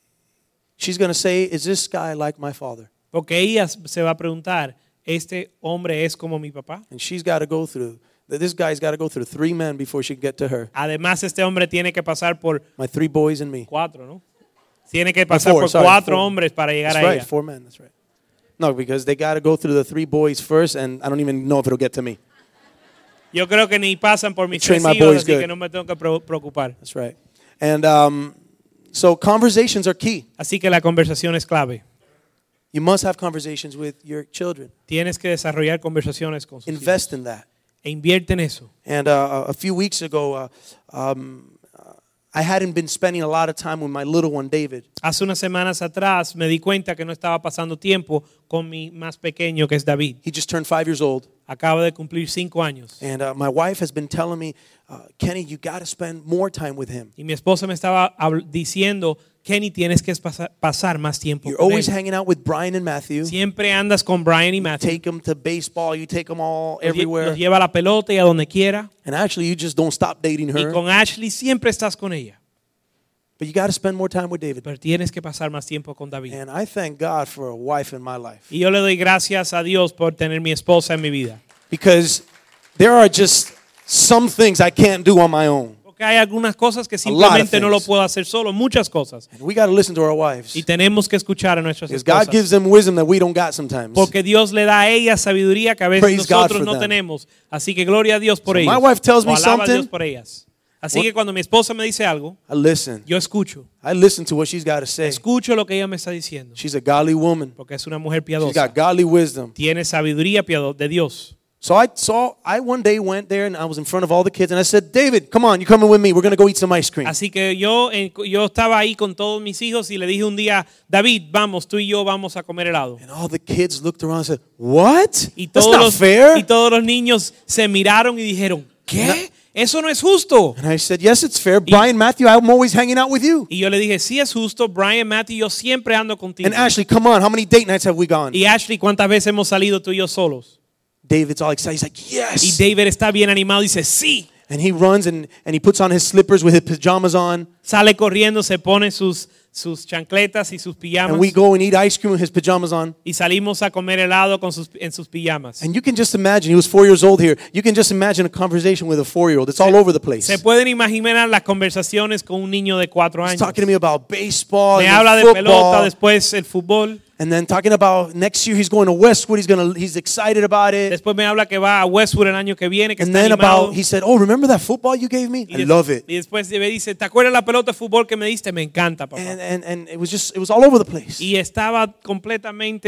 she's going to say, is this guy like my father? porque ella se va a preguntar, ¿este hombre es como mi papá? And she's got to go through, this guy's got to go through three men before she can get to her. Además, este hombre tiene que pasar por My three boys and me. cuatro, ¿no? Tiene que pasar four, por sorry, cuatro four. hombres para llegar That's a right, ella. four men, that's right. No, because they got to go through the three boys first, and I don't even know if it'll get to me. Yo creo que ni pasan por mis Train tres my hijos, boys así good. que no me tengo que pro- preocupar. That's right. And um, so conversations are key. Así que la conversación es clave. You must have conversations with your children. Tienes que desarrollar conversaciones con sus hijos. Invest in that. E invierte en eso. And uh, a few weeks ago, uh, um, I hadn't been spending a lot of time with my little one, David. Hace unas semanas atrás me di cuenta que no estaba pasando tiempo con mi más pequeño, que es David. He just turned five years old. Acaba de cumplir cinco años. And uh, my wife has been telling me, uh, Kenny, you got to spend more time with him. Y mi esposa me estaba habl- diciendo, Kenny, tienes que pasar, pasar más tiempo You're con always él. hanging out with Brian and Matthew. Siempre andas con Brian y You Matthew. take them to baseball. You take them all Los lle- everywhere. Los lleva a la pelota y a donde quiera. And actually, you just don't stop dating Y her. con Ashley siempre estás con ella. But you got to spend more time with David. Pero tienes que pasar más tiempo con David. And I thank God for a wife in my life. Y yo le doy gracias a Dios por tener mi esposa en mi vida. Because there are just some things I can't do on my own. Porque hay algunas cosas que A lot of simplemente no lo things. puedo hacer solo, muchas cosas. And we got to listen to our wives. Y tenemos que escuchar a nuestras Because God gives esposas. them wisdom that we don't got sometimes. Porque Dios le da a ellas sabiduría que a veces Praise God nosotros for no them. tenemos. Así que gloria a Dios por So ellas. my wife tells me O alaba a Dios something. por ellas. Así What- que cuando mi esposa me dice algo, I listen. yo escucho. I listen to what she's got to say. Escucho lo que ella me está diciendo. She's a godly woman. Porque es una mujer She's piadosa. got godly wisdom. Tiene sabiduría piado- de Dios. So I saw, I one day went there and I was in front of all the kids and I said, David, come on, you're coming with me. We're going to go eat some ice cream. Así que yo, eh, yo estaba ahí con todos mis hijos y le dije un día, David, vamos, tú y yo vamos a comer helado. And all the kids looked around and said, what? Y That's todos, not los, fair. y todos los niños se miraron y dijeron, ¿qué? Eso no es justo. And I said, yes, it's fair. Brian, Matthew, I'm always hanging out with you. Y yo le dije, sí es justo, Brian, Matthew, yo siempre ando contigo. And Ashley, come on, how many date nights have we gone? Y Ashley, ¿cuántas veces hemos salido tú y yo solos? David's all excited. He's like, Y yes. David está bien animado y dice, sí. And he runs and, and he puts on his slippers with his pajamas on. Sale corriendo, se pone sus, sus chancletas y sus pijamas. And we go and eat ice cream with his pajamas on. Y salimos a comer helado con sus, en sus pijamas. And you can just imagine, he was four years old here. You can just imagine a conversation with a four-year-old. It's all over the place. Se pueden imaginar las conversaciones con un niño de cuatro He's años. talking to me about baseball Me and habla de football. pelota, después el fútbol. And then talking about next year he's going to Westwood. He's going to he's excited about it. Después me habla que va a Westwood el año que viene, que And está then animado. about he said, "Oh, remember that football you gave me? Y I des- love it." Y después me dice, ¿te acuerdas la pelota de fútbol que me diste? Me encanta, papá. And and and it was just it was all over the place. Y estaba completamente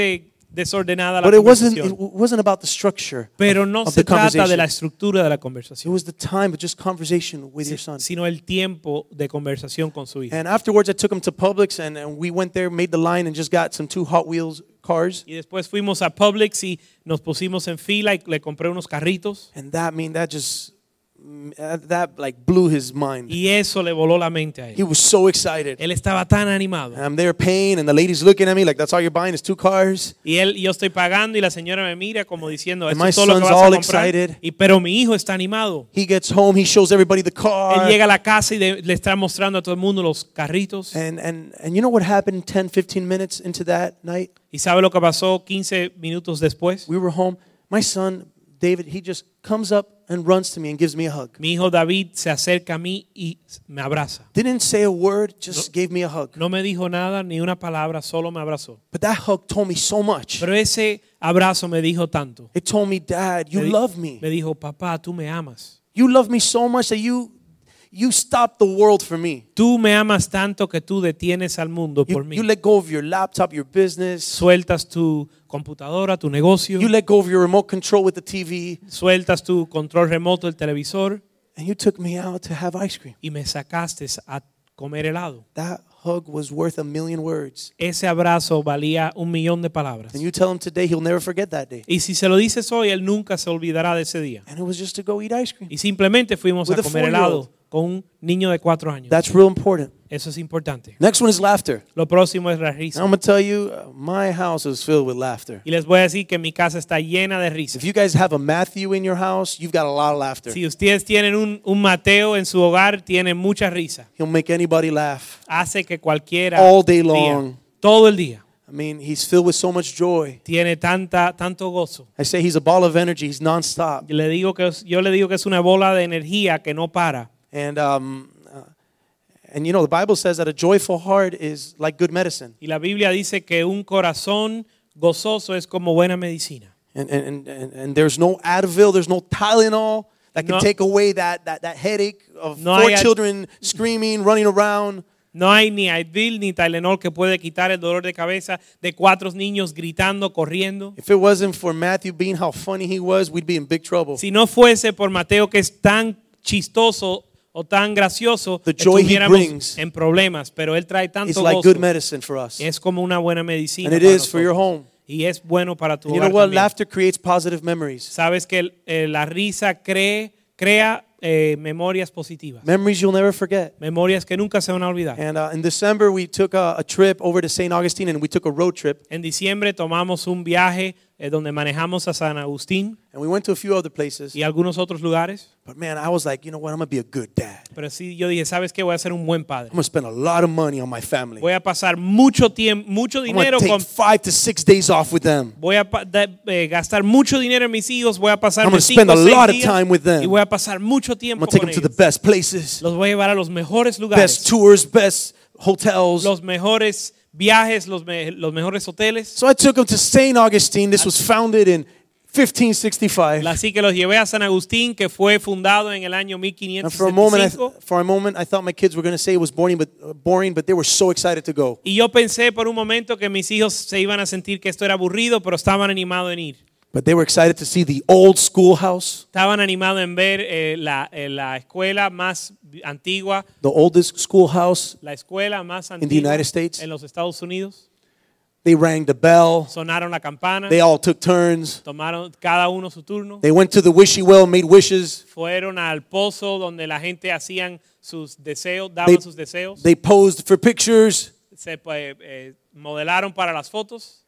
desordenada la But it wasn't, it conversación. wasn't about the structure Pero of, no of se the trata de la conversation. estructura de la It conversación, was the time of just conversation with your si- son. sino el tiempo de conversación con su hijo. And afterwards, I took him to Publix, and, and we went there, made the line, and just got some two Hot Wheels cars. Y después fuimos a Publix y nos pusimos en fila y le compré unos carritos. And that, I mean, that just, that, that like blew his mind. Y eso le voló la mente a He él. was so excited. Él estaba tan animado. And I'm there paying, and the lady's looking at me like, that's all you're buying is two cars? Y él, y yo estoy pagando y la señora me mira como diciendo, And esto my es todo lo que son's vas a all comprar. excited. Y, pero mi hijo está animado. He gets home, he shows everybody the Él car. llega a la casa y de- le está mostrando a todo el mundo los carritos. And, and, and you know what happened ten, fifteen minutes into that night? ¿Y sabe lo que pasó quince minutos después? We were home. My son, David, he just comes up and runs to me and gives me a hug. Mi hijo David se acerca a mí y me abraza. Didn't say a word, just gave me a hug. No me dijo nada ni una palabra, solo me abrazó. But that hug told me so much. Pero ese abrazo me dijo tanto. It told me, Dad, you Me di- love me. Me dijo, papá, tú me amas. You love me so much that you you stopped the world for me. Tú me amas tanto que tú detienes al mundo You, por mí. you let go of your laptop, your business. Sueltas tu computadora, tu negocio. You let go of your remote control with the T V. Sueltas tu control remoto del televisor And you took me out to have ice cream. y me sacaste a comer helado. That hug was worth a million words. Ese abrazo valía un millón de palabras. And you tell him today, he'll never forget that day. Y si se lo dices hoy, él nunca se olvidará de ese día. And it was just to go eat ice cream. Y simplemente fuimos With a a comer four-year-old. helado con un niño de cuatro años. That's real important. Eso es importante. Next one is laughter. Lo próximo es la And risa. I'm going to tell you, uh, my house is filled with laughter. Y les voy a decir que mi casa está llena de risas. If you guys have a Matthew in your house, you've got a lot of laughter. Si ustedes tienen un, un Mateo en su hogar, tienen mucha risa. He'll make anybody laugh. Hace que cualquiera All day día, long. todo el día, I mean, he's filled with so much joy. tiene tanta, tanto gozo. I say he's a ball of energy. He's nonstop. Yo le digo que es, yo le digo que es una bola de energía que no para. And um, uh, and you know, the Bible says that a joyful heart is like good medicine. Y la Biblia dice que un corazón gozoso es como buena medicina. And and and, and there's no Advil, there's no Tylenol that can No. take away that that that headache of No four hay ad- children screaming, running around. No hay ni Advil ni Tylenol que puede quitar el dolor de cabeza de cuatro niños gritando, corriendo. If it wasn't for Matthew being how funny he was, we'd be in big trouble. Si no fuese por Mateo que es tan chistoso o tan gracioso, The joy he estuviéramos brings en problemas, pero él trae tanto It's like gozo. good medicine for us. Es como una buena medicina And it para is for your nosotros. home. Y es bueno para tu And you know hogar what? también. Laughter creates positive memories. Sabes que el- eh, la risa cree, crea eh, memorias positivas. Memories you'll never forget. Memorias que nunca se van a olvidar. And uh, in December, we took a, a trip over to Saint Augustine, and we took a road trip. En diciembre tomamos un viaje eh, donde manejamos a San Agustín And we went to a few other places. y algunos otros lugares. But man, I was like, you know what? I'm going to be a good dad. Pero sí, yo dije, ¿sabes qué? Voy a ser un buen padre. I'm going to spend a lot of money on my family. Voy a pasar mucho tiempo, mucho I'm going dinero to take con... five to six days off with them. Voy a pa- da- eh, gastar mucho dinero en mis hijos. Voy a pasar I'm gonna cinco spend a o seis lot of días time with them. y voy a pasar mucho I'm tiempo going to take con them to the ellos. best places, Los voy a llevar a los mejores lugares, best tours, best hotels. los mejores viajes, los, me- los mejores hoteles. So I took them to Saint Augustine. This was founded in fifteen sixty-five. Así que los llevé a San Agustín, que fue fundado en el año And mil quinientos for a moment, I, sesenta y cinco. for a moment, I thought my kids were going to say it was boring, but uh, boring, but they were so excited to go. Y yo pensé por un momento que mis hijos se iban a sentir que esto era aburrido, pero estaban animados en ir. But they were excited to see the old schoolhouse, Estaban animados en ver eh, la, eh, la escuela más antigua, the oldest schoolhouse. la escuela más the antigua United States. en los Estados Unidos. They rang the bell. Sonaron la campana, They all took turns. tomaron cada uno su turno. They went to the wishy well, made wishes. Fueron al pozo donde la gente hacían sus deseos, daban They- sus deseos. They posed for pictures. Se eh, eh, modelaron para las fotos.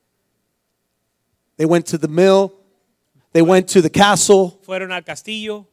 They went to the mill. They went to the castle. Fueron al castillo.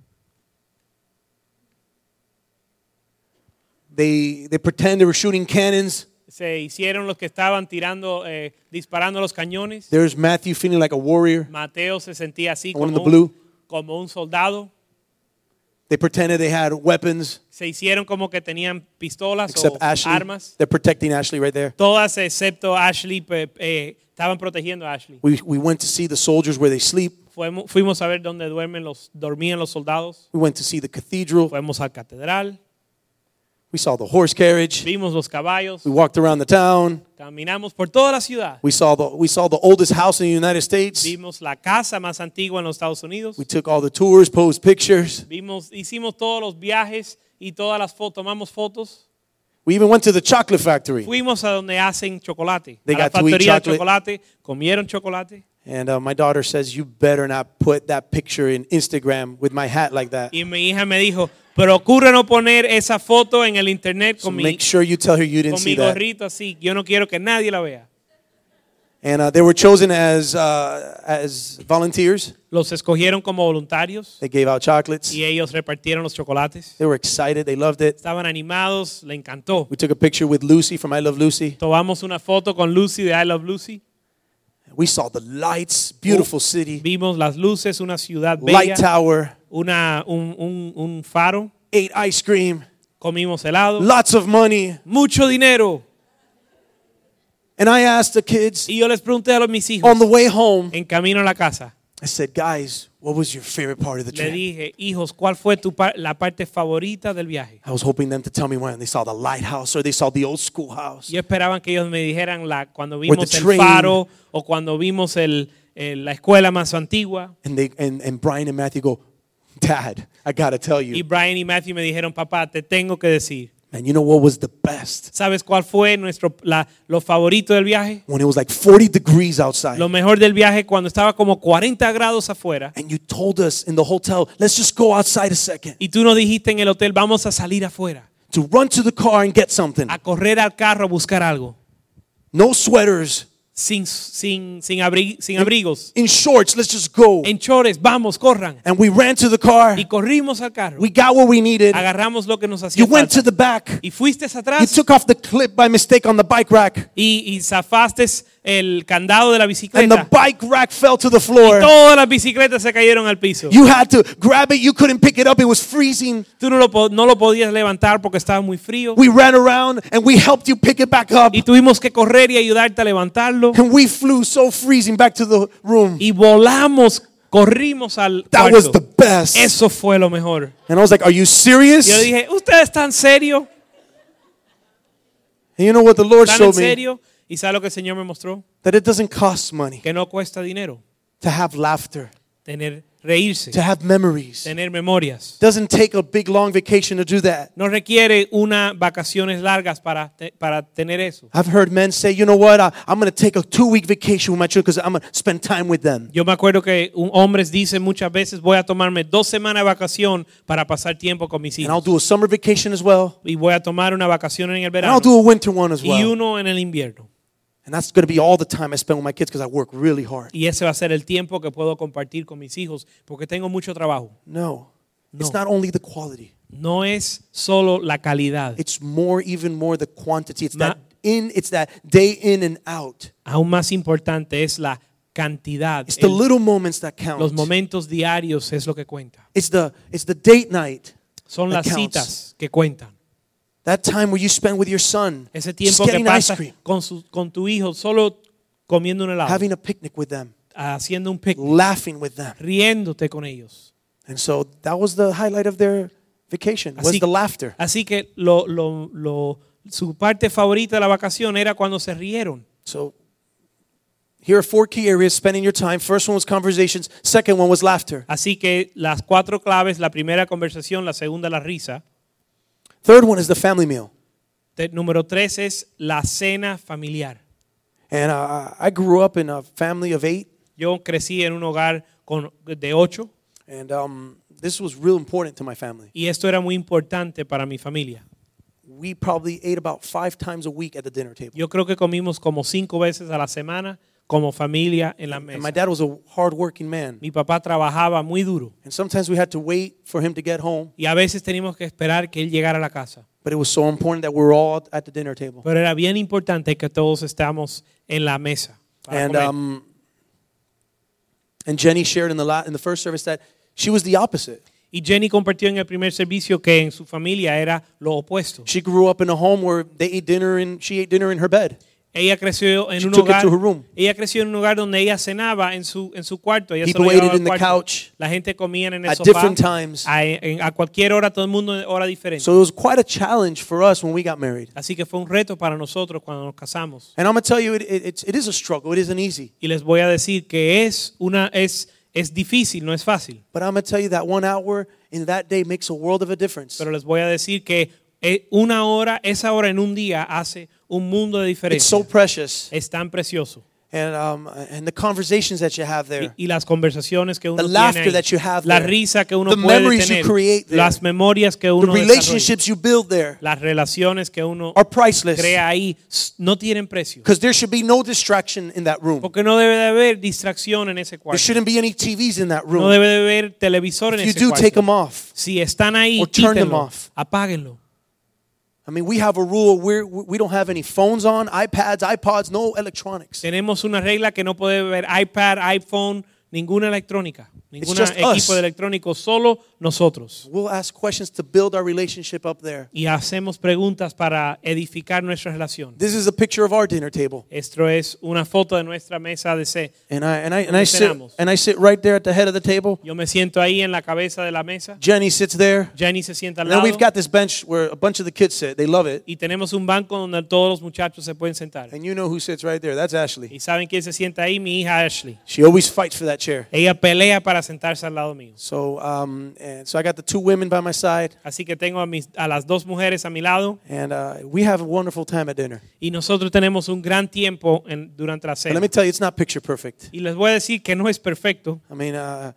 They they pretend they were shooting cannons. Se hicieron los que estaban tirando, eh, disparando los cañones. There's Matthew feeling like a warrior. Mateo se sentía así One in como the blue. un, como un soldado. They pretended they had weapons, Se hicieron como que tenían pistolas except o Ashley. armas. They're protecting Ashley right there. Todas excepto Ashley pe- eh, estaban protegiendo a Ashley. We we went to see the soldiers where they sleep. Fuimos, fuimos a ver dónde duermen los, dormían los soldados. We went to see the cathedral. Fuimos al catedral. We saw the horse carriage. vimos los caballos, We walked around the town. caminamos por toda la ciudad, We saw the we saw the oldest house in the United States. vimos la casa más antigua en los Estados Unidos, We took all the tours, posed pictures. vimos, hicimos todos los viajes y todas las fotos, tomamos fotos. We even went to the chocolate factory. Fuimos a donde hacen chocolate, They a la got to eat factoría de chocolate. chocolate, comieron chocolate. And uh, my daughter says, "You better not put that picture in Instagram with my hat like that." Y mi hija me dijo, procura no poner esa foto en el internet So con mi, make sure you tell her you didn't con mi see that. gorrito así. Yo no quiero que nadie la vea. And uh, they were chosen as uh, as volunteers. Los escogieron como voluntarios They gave out chocolates. y ellos repartieron los chocolates. They were excited. They loved it. Estaban animados, le encantó. We took a picture with Lucy from I Love Lucy. Tomamos una foto con Lucy de I Love Lucy. We saw the lights, beautiful city, Vimos las luces, una ciudad light bella, tower, una, un, un, un faro. ate ice cream, Comimos helado, lots of money. mucho dinero. And I asked the kids Y yo les pregunté a los mis hijos on the way home, en camino a la casa. I said, "Guys, what was your favorite part of the Le trip?" dije, hijos, ¿cuál fue tu par- la parte favorita del viaje? I was hoping them to tell me when they saw the lighthouse or they saw the old schoolhouse. Yo esperaba que ellos me dijeran la, cuando vimos the el train. faro o cuando vimos el, el- la escuela más antigua. And they and, and Brian and Matthew go, "Dad, I gotta tell Y you, Brian y Matthew me dijeron, papá, te tengo que decir. man, you know what was the best? ¿Sabes cuál fue nuestro, la, lo favorito del viaje? When it was like forty degrees outside. Lo mejor del viaje cuando estaba como cuarenta grados afuera. And you told us in the hotel, let's just go outside a second Y tú nos dijiste en el hotel, vamos a salir afuera, to run to the car and get something. a correr al carro a buscar algo. No sweaters, Sin, sin, sin, abri- sin abrigos. in shorts, let's just go. En chores, vamos, corran. And we ran to the car. Y corrimos al carro. We got what we needed. Agarramos lo que nos hacía You went to falta. the back. Y fuiste You atrás took off the clip by mistake on the bike rack. y, y zafaste el candado de la And the bicicleta. bike rack fell to the floor. Todas las bicicletas se cayeron al piso. You had to grab it. You couldn't pick it up. It was freezing. Tú no lo, po- no lo podías levantar porque estaba muy frío. We ran around and we helped you pick it back up. Y tuvimos que correr y ayudarte a levantarlo. And we flew so freezing back to the room. Y volamos, corrimos al That was cuarto. the best. Eso fue lo mejor. And I was like, are you serious? Yo dije, ¿ustedes están serios? And you know what the Lord ¿Están en showed me? serio? ¿Y sabe lo que el Señor me mostró? That it doesn't cost money Que no cuesta dinero to have laughter, tener, reírse, to have memories. It tener memorias. doesn't take a big long vacation to do that. No requiere unas vacaciones largas para, te- para tener eso. I've heard men say, you know what, I, I'm going to take a two-week vacation with my children because I'm going to spend time with them. Yo me acuerdo que un hombres dicen muchas veces, voy a tomarme dos semanas de vacación para pasar tiempo con mis And I'll hijos. do a summer vacation as well. Y voy a tomar una vacación en el And verano I'll do a winter one as y well. uno en el invierno. And that's going to be all the time I spend with my kids because I work really hard. Y ese va a ser el tiempo que puedo compartir con mis hijos porque tengo mucho trabajo. No, it's No. not only the quality. No es solo la calidad. It's more, even more the quantity. It's Ma- that in, it's that day in and out. Aún más importante es la cantidad. It's the El- little moments that count. los momentos diarios es lo que cuenta. It's the, it's the date night. Son that las counts. citas que cuentan. That time where you spend with your son, Ese just tiempo que getting ice pasa cream, con, su- con tu hijo solo comiendo un helado, having a picnic with them, haciendo un picnic, laughing with them. riéndote con ellos. And so that was the highlight of their vacation, was Así, the laughter. así que lo, lo, lo, su parte favorita de la vacación era cuando se rieron. So here are four key areas spending your time. First one was conversations. Second one was laughter. Así que las cuatro claves, la primera conversación, la segunda la risa. Third one is the family meal. Te- número tres es la cena familiar. And uh, I grew up in a family of eight. Yo crecí en un hogar con, de ocho And um, this was real important to my family. y esto era muy importante para mi familia. We probably ate about five times a week at the dinner table. Yo creo que comimos como cinco veces a la semana como familia en la And my mesa. dad was a hard-working man. Mi papá trabajaba muy duro And sometimes we had to wait for him to get home. y a veces teníamos que esperar que él llegara a la casa. But it was so important that we were all at the dinner table. Pero era bien importante que todos estamos en la mesa. para And comer. um, and Jenny shared in the la- in the first service that she was the opposite. Y Jenny compartió en el primer servicio que en su familia era lo opuesto. She grew up in a home where they ate dinner and she ate dinner in her bed. Ella creció en She un took it hogar. to her room. Ella creció en un lugar donde ella cenaba en su en su cuarto. Ella People solo ate llegaba it al in the cuarto. couch La gente comía en el at sofá. different times. A, en- a cualquier hora, todo el mundo en hora diferente. So it was quite a challenge for us when we got married. Así que fue un reto para nosotros cuando nos casamos. And I'm going to tell you, it, it, it's- it is a struggle. It isn't easy. Y les voy a decir que es una es es difícil, no es fácil. But I'm going to tell you that one hour in that day makes a world of a difference. Pero les voy a decir que eh, una hora, esa hora en un día hace un mundo de It's diferencia. so precious. Es tan precioso. And, um, and the conversations that you have there. Y, y las conversaciones que uno The tiene laughter ahí, that you have la there. risa que uno The puede memories you tener, create there. las memorias que The uno desarrolla, relationships you build there las relaciones que uno are priceless. crea ahí s- no tienen precio. Because there should be no distraction in that room. Porque no debe de haber distracción en ese There cuarto. shouldn't be any T Vs in that No room. debe de haber televisor en If you ese do, take them cuarto. off. Si están ahí, Or turn them quítenlo, off. apáguenlo. I mean, we have a rule where we don't have any phones on, iPads, iPods, no electronics. Tenemos una regla que no puede haber iPad, iPhone, ninguna electrónica, ningún just equipo us. de electrónico, solo nosotros. We'll ask questions to build our relationship up there. Y hacemos preguntas para edificar nuestra relación. This is a picture of our dinner table. Esto es una foto de nuestra mesa de C. And I and I and I sit cenamos. and I sit right there at the head of the table. Yo me siento ahí en la cabeza de la mesa. Jenny sits there. Jenny se sienta al And then lado. we've got this bench where a bunch of the kids sit. They love it. Y tenemos un banco donde todos los muchachos se pueden sentar. And you know who sits right there. That's Ashley. ¿Y saben quién se sienta ahí? Mi hija Ashley. She always fights for that chair. Ella pelea para sentarse al lado mío. So um and so I got the two women by my side, Así que tengo a, mis, a las dos mujeres a mi lado and uh, we have a wonderful time at dinner. y nosotros tenemos un gran tiempo en, durante la But cena. let me tell you, it's not picture perfect. Y les voy a decir que no es perfecto. I mean, uh,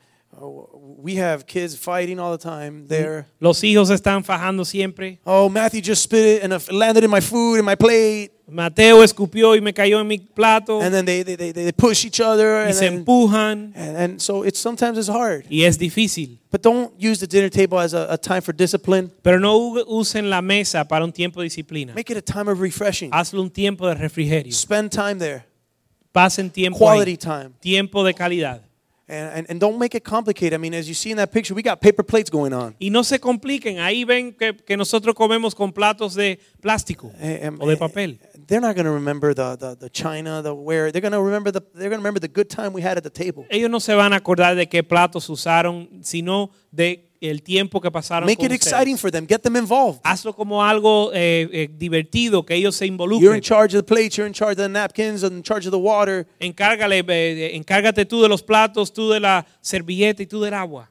we have kids fighting all the time there. Los hijos están fajando siempre. Oh, Matthew just spit it and it landed in my food and my plate. Mateo escupió y me cayó en mi plato. And then they they, they, they push each other. Y And, se then, empujan. and, and so it's sometimes it's hard. Y es difícil. But don't use the dinner table as a, a time for discipline. Pero no u- usen la mesa para un tiempo de disciplina. Make it a time of refreshing. Hazlo un tiempo de refrigerio. Spend time there. Pasen tiempo Quality ahí. time. Tiempo de calidad. And, and, and don't make it complicated. I mean, as you see in that picture, we got paper plates going on. Y no se compliquen. Ahí ven que, que nosotros comemos con platos de plástico Eh, um, o de papel. They're not going to remember the, the, the china, the ware. They're going to remember the they're going to remember the good time we had at the table. Ellos no se van a acordar de qué platos usaron, sino de el tiempo que pasaron Make con it ustedes. exciting for them. Get them involved. Hazlo como algo eh, eh, divertido, que ellos se You're involucren. in charge of the plates. You're in charge of the napkins. In charge of the water. Encárgale, eh, encárgate tú de los platos, tú de la servilleta y tú del agua.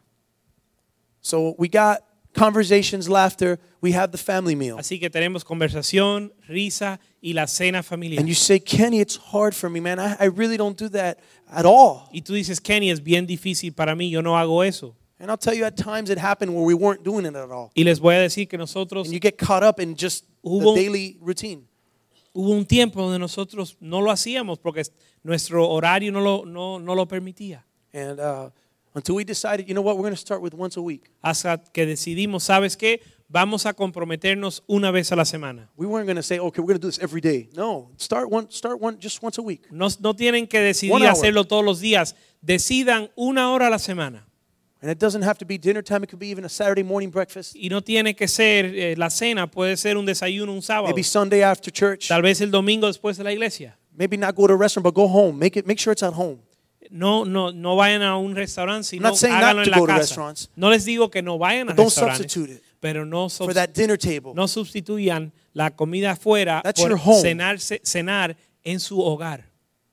So we got conversations, laughter. We have the family meal. Así que tenemos conversación, risa y la cena familiar. And you say, Kenny, it's hard for me, man. I, I really don't do that at all. Y tú dices, Kenny, es bien difícil para mí, yo no hago eso. And I'll tell you, at times it happened where we weren't doing it at all. Y les voy a decir que nosotros And you get caught up in just Hubo- the daily routine. hubo un tiempo donde nosotros no lo hacíamos porque nuestro horario no lo, no, no lo permitía. And uh, until we decided, you know what, we're going to start with once a week. Hasta que decidimos, ¿sabes qué? Vamos a comprometernos una vez a la semana. We weren't going to say, okay, we're going to do this every day. No, start one, start one, just once a week. No, no tienen que One decidir hour. hacerlo todos los días. Decidan una hora a la semana. And it doesn't have to be dinner time. It could be even a Saturday morning breakfast. Y no tiene que ser eh, la cena, puede ser un desayuno un sábado. Maybe Sunday after church. Tal vez el domingo después de la iglesia. Maybe not go to a restaurant, but go home. Make it. Make sure it's at home. No, no, no vayan a un restaurante, sino not saying háganlo not en to la go to casa. restaurants. No les digo que no vayan a But don't restaurantes, substitute it pero no, for subs- that dinner table. no sustituyan la comida afuera That's por your home. cenarse- cenar en su hogar.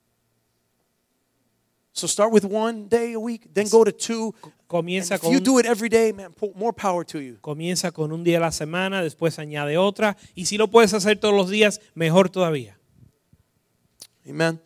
So start with one day a week, then go to two. Comienza And if con, you un, do it every day, man, po- more power to you. comienza con un día a la semana, después añade otra. Y si lo puedes hacer todos los días, mejor todavía. Amen.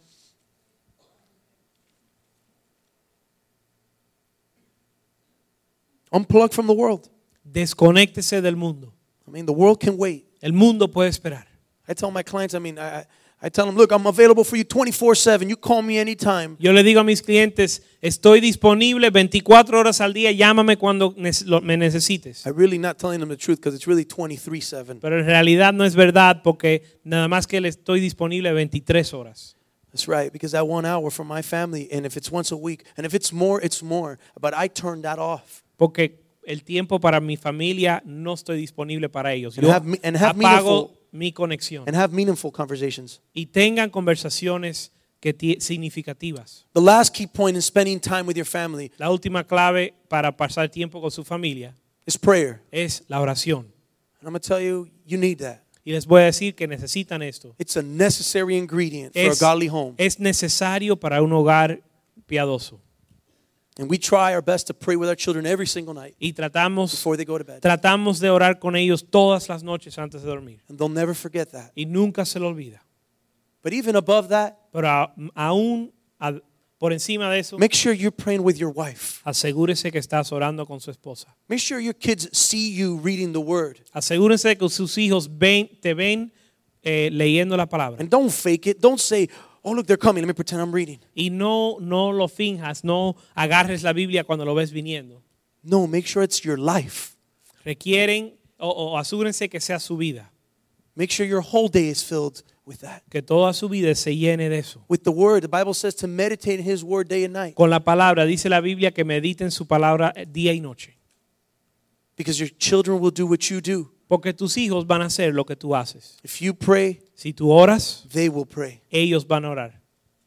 Unplug from the world. Desconéctese del mundo. I mean, the world can wait. El mundo puede esperar. I tell my clients, I mean, I, I- I tell them, look, I'm available for you twenty-four seven. You call me anytime. Yo le digo a mis clientes, estoy disponible veinticuatro horas al día, llámame cuando nece- lo- me necesites. I'm really not telling them the truth because it's really twenty-three seven. Pero en realidad no es verdad porque nada más que le estoy disponible veintitrés horas. That's right, because that one hour for my family, and if it's once a week, and if it's more, it's more. But I turned that off. Porque el tiempo para mi familia no estoy disponible para ellos. And Yo have me- and have apago meaningful- mi conexión and have meaningful conversations. y tengan conversaciones que ti- significativas. The last key point in spending time with your family La última clave para pasar tiempo con su familia is prayer. es la oración. And I'm going to tell you, you need that. Y les voy a decir que necesitan esto. It's a necessary ingredient for Es, a godly home. es necesario para un hogar piadoso. And we try our best to pray with our children every single night Y tratamos, before they go to bed. tratamos de orar con ellos todas las noches antes de dormir. And they'll never forget that. Y nunca se lo olvida. But even above that, Pero a- aún a- por encima de eso, make sure you're praying with your wife. asegúrese que estás orando con su esposa. Make sure your kids see you reading the word. Asegúrense de que sus hijos ven, te ven eh, leyendo la palabra. And don't fake it. Don't say, oh, look, they're coming. Let me pretend I'm reading. Y no, no lo finjas, no agarres la Biblia cuando lo ves viniendo. No, make sure it's your life. Requieren o, o asegúrense que sea su vida, Make sure your whole day is filled with that. que toda su vida se llene de eso. With the word, the Bible says to meditate in his word day and night. Con la palabra, dice la Biblia que mediten su palabra día y noche. Because your children will do what you do. Porque tus hijos van a hacer lo que tú haces. If you pray, Si tú oras, they will pray. ellos van a orar.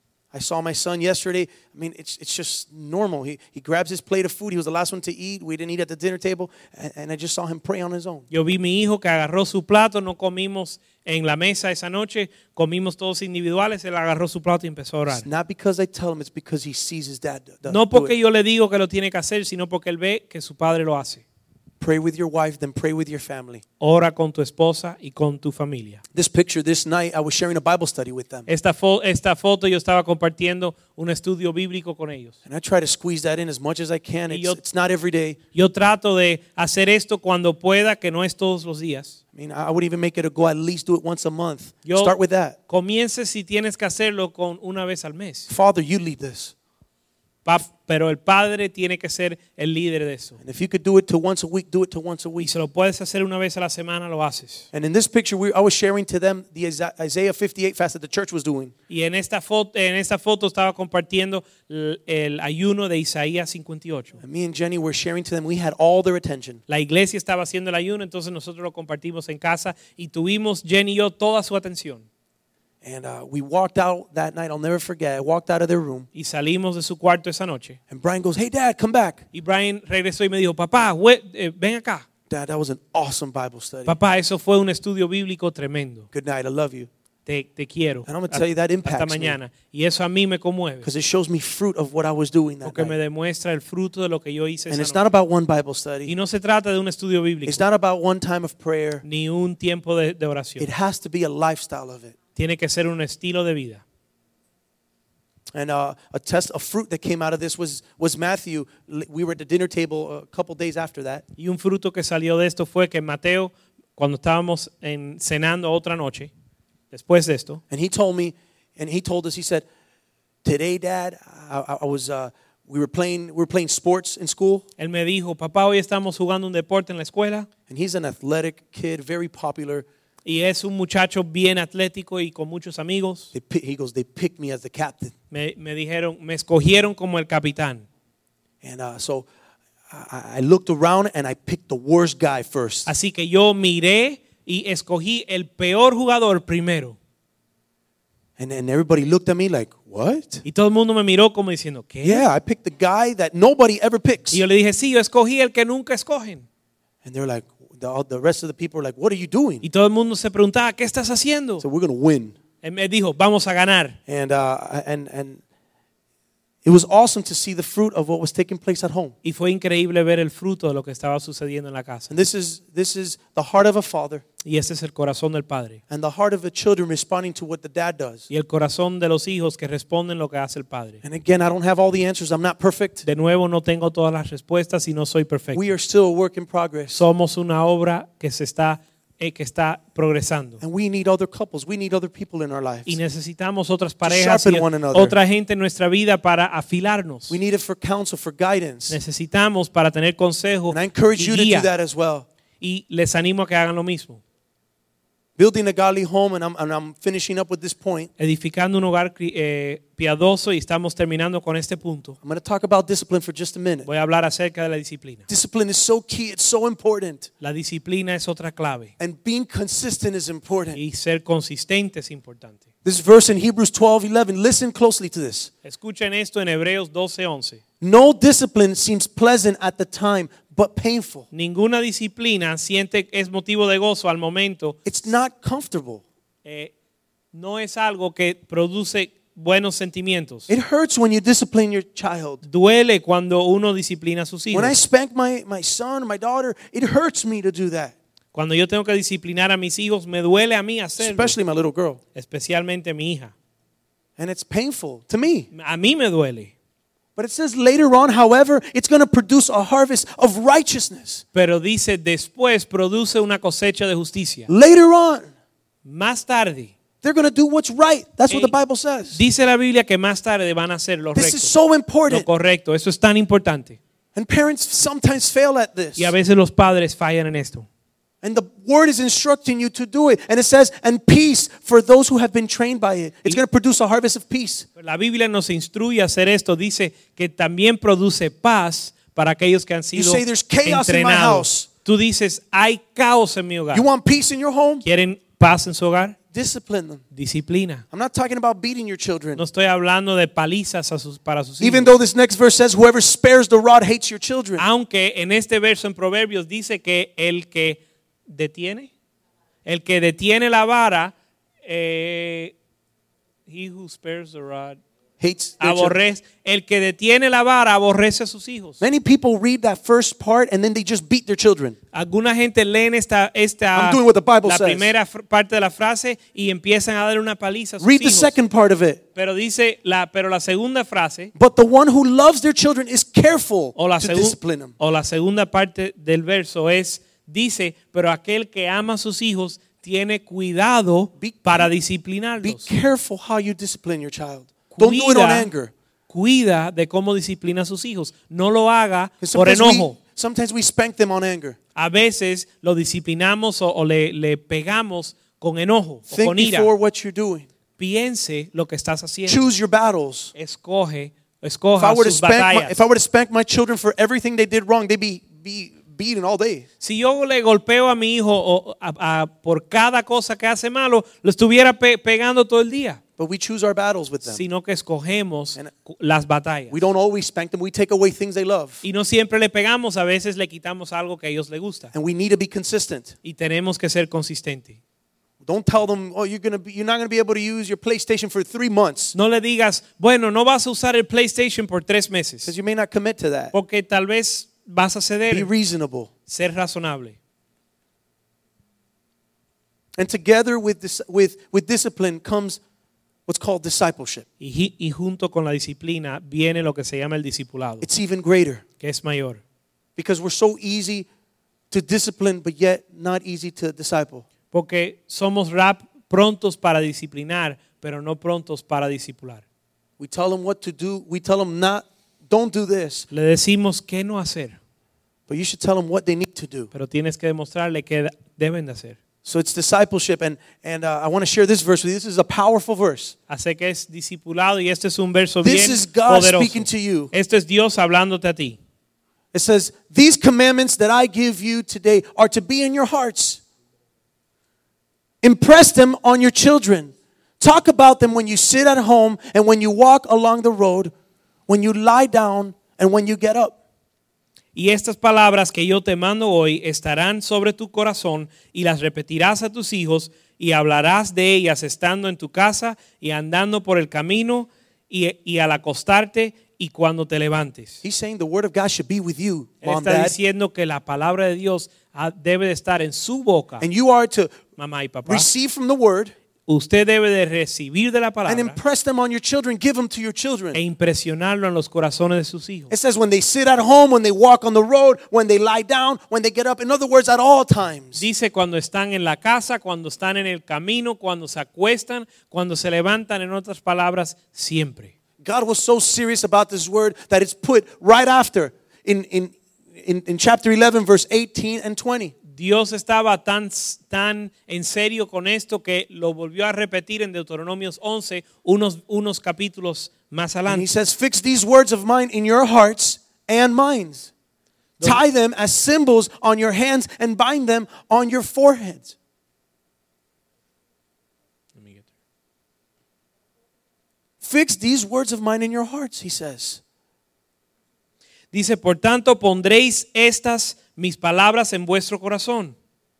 I saw my son yesterday. I mean, it's it's just normal. He he grabs his plate of food. He was the last one to eat. We didn't eat at the dinner table, and, and I just saw him pray on his own. Yo vi mi hijo que agarró su plato, no comimos en la mesa esa noche, comimos todos individuales, él agarró su plato y empezó a orar. It's not because I tell him; it's because he sees his dad do, do No do porque it. yo le digo que lo tiene que hacer, sino porque él ve que su padre lo hace. Pray with your wife, then pray with your family. Ora con tu esposa y con tu familia. This picture, this night, I was sharing a Bible study with them, Esta, fo- esta foto yo estaba compartiendo un estudio bíblico con ellos. and I try to squeeze that in as much as I can. Y It's, yo- it's not every day. Yo trato de hacer esto cuando pueda, que no es todos los días. I mean, I would even make it a goal. At least do it once a month. Yo- Start with that. Comience si tienes que hacerlo con una vez al mes. Father, you lead this. Pa- Pero el padre tiene que ser el líder de eso. And if you could do it to once a week, do it to once a Y week. se lo puedes hacer una vez a la semana, lo haces. And in this picture, we, I was sharing to them the Isa- Isaiah fifty-eight fast that the church was doing. Y en esta foto, en esta foto estaba compartiendo el, el ayuno de Isaías cincuenta y ocho. And me and Jenny were sharing to them. We had all their attention. La iglesia estaba haciendo el ayuno, entonces nosotros lo compartimos en casa y tuvimos, Jenny y yo, toda su atención. And uh, we walked out that night. I'll never forget. I walked out of their room. Y salimos de su cuarto esa noche. And Brian goes, hey, Dad, come back. Y Brian regresó y me dijo, papá, we- eh, ven acá. Dad, that was an awesome Bible study. Papá, eso fue un estudio bíblico tremendo. Good night. I love you. Te, te quiero. And I'm gonna tell you that impacts Hasta me. mañana. Y eso a mí me conmueve. Because it shows me fruit of what I was doing that Porque me night. demuestra el fruto de lo que yo hice And esa it's not noche. about one Bible Y study. no se trata de un estudio bíblico, It's not about one time of prayer. ni un tiempo de, de oración. It has to be a lifestyle of it. Tiene que ser un estilo de vida. And uh, a test, a fruit that came out of this was was Matthew. We were at the dinner table a couple days after that, Y un fruto que salió de esto fue que Mateo, cuando estábamos en, cenando otra noche, después de esto, and he told me, and he told us, he said, "Today, Dad, I, I was uh, we were playing we were playing sports in school, él me dijo, papá, hoy estamos jugando un deporte en la escuela and he's an athletic kid, very popular. y es un muchacho bien atlético y con muchos amigos. They, pi- he goes, they picked me as the captain, Me, me dijeron, me escogieron como el capitán. and uh, so I, I looked around and I picked the worst guy first. Así que yo miré y escogí el peor jugador primero. And then everybody looked at me like, what? Y todo el mundo me miró como diciendo, ¿qué? Yeah, I picked the guy that nobody ever picks. Y yo le dije, sí, yo escogí el que nunca escogen. And they're like, the, all the rest of the people are like, what are you doing? Y todo el mundo se preguntaba, ¿qué estás haciendo? So we're going to win. Él me dijo, vamos a ganar. And, uh, and, and it was awesome to see the fruit of what was taking place at home. Y fue increíble ver el fruto de lo que estaba sucediendo en la casa. And this is, this is the heart of a father Y ese es el corazón del padre. and the heart of the children responding to what the dad does. Y el corazón de los hijos que responden lo que hace el padre. And again, I don't have all the answers. I'm not perfect. De nuevo, no tengo todas las respuestas y no soy perfecto. We are still a work in progress. Somos una obra que se está, eh, que está progresando. And we need other couples. We need other people in our lives. Y necesitamos otras parejas sharpen y one another. otra gente en nuestra vida para afilarnos. We need it for counsel, for guidance. Necesitamos para tener consejo And I encourage y you to do guía. that as well. Y les animo a que hagan lo mismo. building a godly home, and I'm, and I'm finishing up with this point. edificando un hogar eh, piadoso, y estamos terminando con este punto. I'm going to talk about discipline for just a minute. Voy a hablar acerca de la disciplina. Discipline is so key. It's so important. La disciplina es otra clave, And being consistent is important. y ser consistente es importante. This verse in Hebrews twelve eleven, listen closely to this. Escuchen esto en Hebreos doce once. No discipline seems pleasant at the time, but painful. Ninguna disciplina siente es motivo de gozo al momento. It's not comfortable. Eh, no es algo que produce buenos sentimientos. It hurts when you discipline your child. Duele cuando uno disciplina a sus hijos. When I spank my, my son or my daughter, it hurts me to do that. Cuando yo tengo que disciplinar a mis hijos, me duele a mí hacerlo, Especially my little girl. especialmente mi hija. And it's painful to me. A mí me duele. But it says later on, however, it's going to produce a harvest of righteousness. Pero dice, después produce una cosecha de justicia. Later on, Más tarde, they're going to do what's right. That's what the Eh, Bible says. dice la Biblia que más tarde van a hacer lo This recto, is so lo important. correcto. Eso es tan importante. And parents sometimes fail at this. Y a veces los padres fallan en esto. And the word is instructing you to do it. And it says, and peace for those who have been trained by it. It's going to produce a harvest of peace. La Biblia nos instruye a hacer esto. Dice que también produce paz para aquellos que han You sido say there's chaos in my entrenados. house. Tú dices, hay caos en mi hogar. You want peace in your home? ¿Quieren paz en su hogar? Discipline them. Disciplina. I'm not talking about beating your children. No estoy hablando de palizas a sus, para sus Even hijos. though this next verse says, whoever spares the rod hates your children. Aunque en este verso en Proverbios dice que el que detiene, el que detiene la vara, eh, he who spares the rod, Hates their children. aborrece, el que detiene la vara aborrece a sus hijos. Many people read that first part and then they just beat their children. Alguna gente leen esta, esta I'm doing what the Bible la says. primera fr- parte de la frase y empiezan a dar una paliza a sus Read the hijos. second part of it. Pero dice la, pero la segunda frase But the one who loves their children is careful o la, to segu- discipline them. o la segunda parte del verso es, dice, pero aquel que ama a sus hijos tiene cuidado Be- para Be disciplinarlos. careful how you discipline your child. Don't do it on Cuida, anger. cuida de cómo disciplina a sus hijos. No lo haga 'Cause por sometimes enojo. we, sometimes we spank them on anger. A veces lo disciplinamos o, o le, le pegamos con enojo o Think con ira. before what you're doing. Piense lo que estás haciendo. Choose your battles. Escoge, If escoja I were to sus spank my, batallas. if I were to spank my children for everything they did wrong, they'd be be beaten all day. Si yo le golpeo a mi hijo o, a- a- por cada cosa que hace malo, lo estuviera pe- pegando todo el día. But we choose our battles with them. Sino que escogemos And- cu- las batallas. We don't always spank them. We take away things they love. Y no siempre le pegamos, a veces le quitamos algo que a ellos les gusta. And we need to be consistent. Y tenemos que ser consistentes. Don't tell them, oh, you're gonna be, you're not gonna be able to use your PlayStation for three months No le digas, bueno, no vas a usar el PlayStation por tres meses. because you may not commit to that. Porque tal vez vas a Be ceder. reasonable. Ser razonable. And together with this, with with discipline comes what's called discipleship. Y, ji- y junto con la disciplina viene lo que se llama el discipulado, It's even greater que es mayor. because we're so easy to discipline, but yet not easy to disciple. Porque somos rap prontos para disciplinar, pero no prontos para discipular. We tell them what to do. We tell them not, don't do this. Le decimos qué no hacer, But you should tell them what they need to do. pero tienes que demostrarle qué deben de hacer. So it's discipleship, and and uh, I want to share this verse with you. This is a powerful verse. Así que es discipulado y este es un verso This bien is God poderoso. speaking to you. Esto es Dios hablándote a ti. It says, "These commandments that I give you today are to be in your hearts. Impress them on your children. Talk about them when you sit at home and when you walk along the road, when you lie down and when you get up." Y estas palabras que yo te mando hoy estarán sobre tu corazón y las repetirás a tus hijos y hablarás de ellas estando en tu casa y andando por el camino y, y al acostarte y cuando te levantes. He's saying the word of God should be with you, Él mom, está dad, diciendo que la palabra de Dios ah, debe de estar en su boca, and you are to mamá y papá. receive from the word Usted debe de recibir de la and palabra impress them on your children. Give them to your children. e impresionarlo en los corazones de sus hijos. It says when they sit at home, when they walk on the road, when they lie down, when they get up. In other words, at all times. Dice cuando están en la casa, cuando están en el camino, cuando se acuestan, cuando se levantan, en otras palabras, siempre. God was so serious about this word that it's put right after in, in, in, in chapter eleven, verse eighteen and twenty. Dios estaba tan, tan en serio con esto que lo volvió a repetir en Deuteronomios once, unos, unos capítulos más And he adelante. says, fix these words of mine in your hearts and minds. Tie them as symbols on your hands and bind them on your foreheads. Fix these words of mine in your hearts, he says. Dice, por tanto, pondréis estas mis palabras en vuestro corazón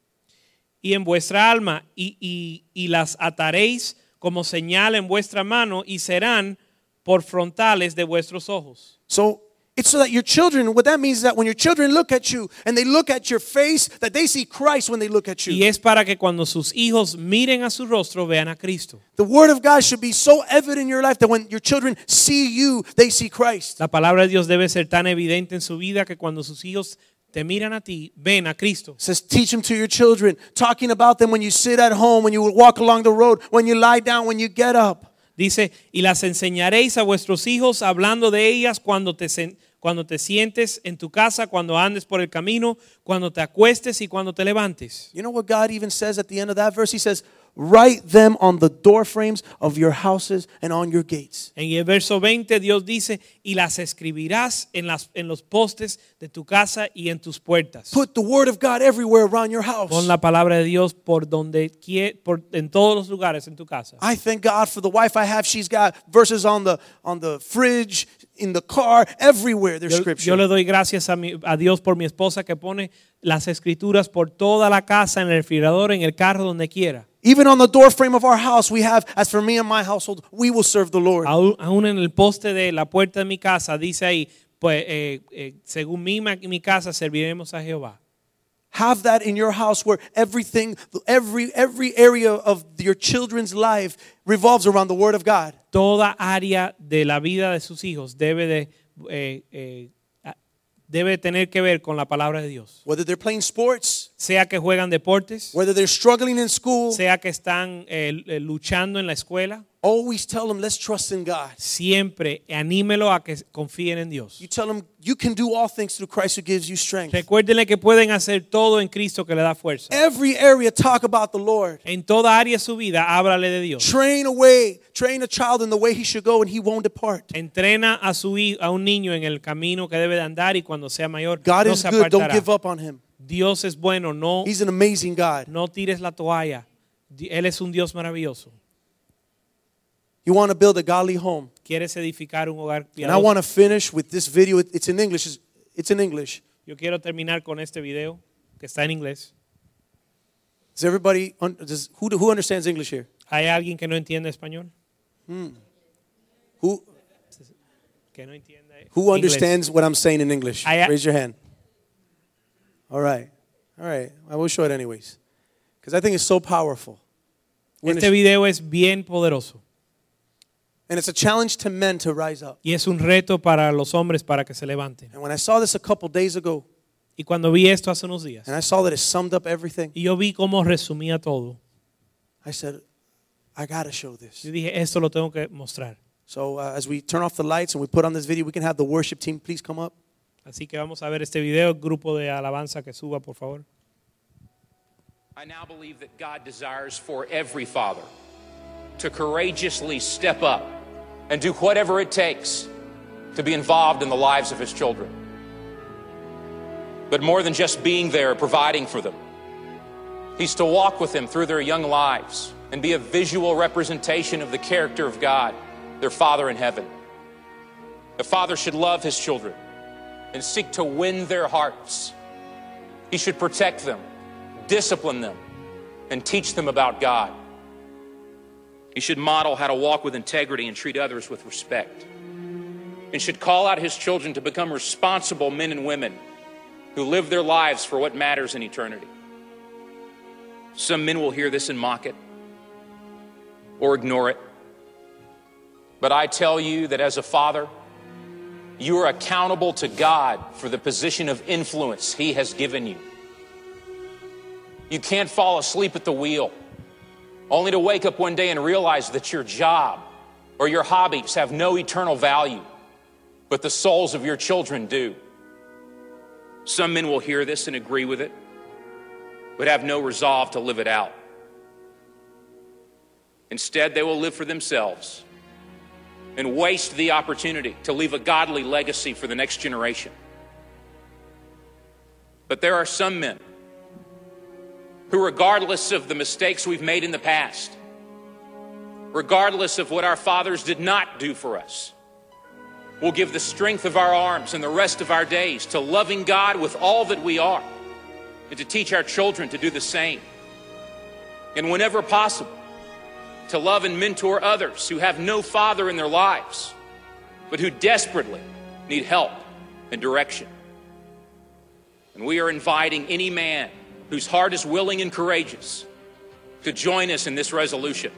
y en vuestra alma y, y, y las ataréis como señal en vuestra mano y serán por frontales de vuestros ojos. So it's so that your children, what that means is that when your children look at you and they look at your face, that they see Christ when they look at Y you. es para que cuando sus hijos miren a su rostro vean a Cristo. The word of God should be so evident in your life that when your children see you, they see Christ. La palabra de Dios debe ser tan evidente en su vida que cuando sus hijos te miran a ti, ven a Cristo. It says, teach them to your children, talking about them when you sit at home, when you walk along the road, when you lie down, when you get up. Dice, y las enseñaréis a vuestros hijos hablando de ellas cuando te, cuando te sientes en tu casa, cuando andes por el camino, cuando te acuestes y cuando te levantes. You know what God even says at the end of that verse? He says, write them on the door frames of your houses and on your gates. En el verso veinte Dios dice, y las escribirás en, las, en los postes de tu casa y en tus puertas. Put the word of God everywhere around your house. Pon la palabra de Dios por donde quie- por, en todos los lugares en tu casa. I thank God for the wife I have. She's got verses on the on the fridge, in the car, everywhere there's Yo, scripture. yo le doy gracias a, mi, a Dios por mi esposa que pone las escrituras por toda la casa, en el refrigerador, en el carro, donde quiera. Even on the door frame of our house, we have, as for me and my household, we will serve the Lord. Aún, aún en el poste de la puerta de mi casa dice ahí, pues eh, eh, según mi, ma- mi casa serviremos a Jehová. Have that in your house where everything, every every area of your children's life revolves around the word of God. Toda área de la vida de sus hijos debe de eh, eh, debe tener que ver con la palabra de Dios. Whether they're playing sports, Sea que juegan deportes, whether they're struggling in school, sea que están eh, eh, luchando en la escuela, always tell them, let's trust in God. siempre anímelo a que confíen en Dios. You tell them you can do all things through Christ who gives you strength. Recuérdenle que pueden hacer todo en Cristo que le da fuerza. Every area talk about the Lord. En toda área de su vida, háblale de Dios. Train away, train a child in the way he should go and he won't depart. Entrena a su hi- a un niño en el camino que debe de andar y cuando sea mayor God no is se good, don't apartará. give up on him. Dios es bueno, no, He's an amazing God. no tires la toalla. Di- Él es un Dios maravilloso. You want to build a godly home. Quieres edificar un hogar And I want piadoso. to finish with this video. It- It's in English. It's- It's in English. Yo quiero terminar con este video que está en inglés. Does everybody, un- does, who, who understands English here? ¿Hay alguien que no entiende español? Who, Que no entiende who inglés. understands what I'm saying in English? I- Raise your hand. All right. All right. I will show it anyways. Because I think it's so powerful. We're Este gonna- video es bien poderoso And it's a challenge to men to rise up. y es un reto para los hombres para que se levanten. And when I saw this a couple days ago, Y cuando vi esto hace unos días and I saw that it summed up everything, y yo vi cómo resumía todo, I said, I got to show this. yo dije, esto lo tengo que mostrar. So uh, as we turn off the lights and we put on this video, we can have the worship team please come up. Así que vamos a ver este video, el grupo de alabanza que suba, por favor. I now believe that God desires for every father to courageously step up and do whatever it takes to be involved in the lives of his children. But more than just being there, providing for them, he's to walk with them through their young lives and be a visual representation of the character of God, their Father in heaven. The father should love his children and seek to win their hearts. He should protect them, discipline them, and teach them about God. He should model how to walk with integrity and treat others with respect. And should call out his children to become responsible men and women who live their lives for what matters in eternity. Some men will hear this and mock it or ignore it. But I tell you that as a father, you are accountable to God for the position of influence he has given you. You can't fall asleep at the wheel, only to wake up one day and realize that your job or your hobbies have no eternal value, but the souls of your children do. Some men will hear this and agree with it, but have no resolve to live it out. Instead, they will live for themselves and waste the opportunity to leave a godly legacy for the next generation. But there are some men who, regardless of the mistakes we've made in the past, regardless of what our fathers did not do for us, will give the strength of our arms and the rest of our days to loving God with all that we are, and to teach our children to do the same. And whenever possible, to love and mentor others who have no father in their lives, but who desperately need help and direction. And we are inviting any man whose heart is willing and courageous to join us in this resolution.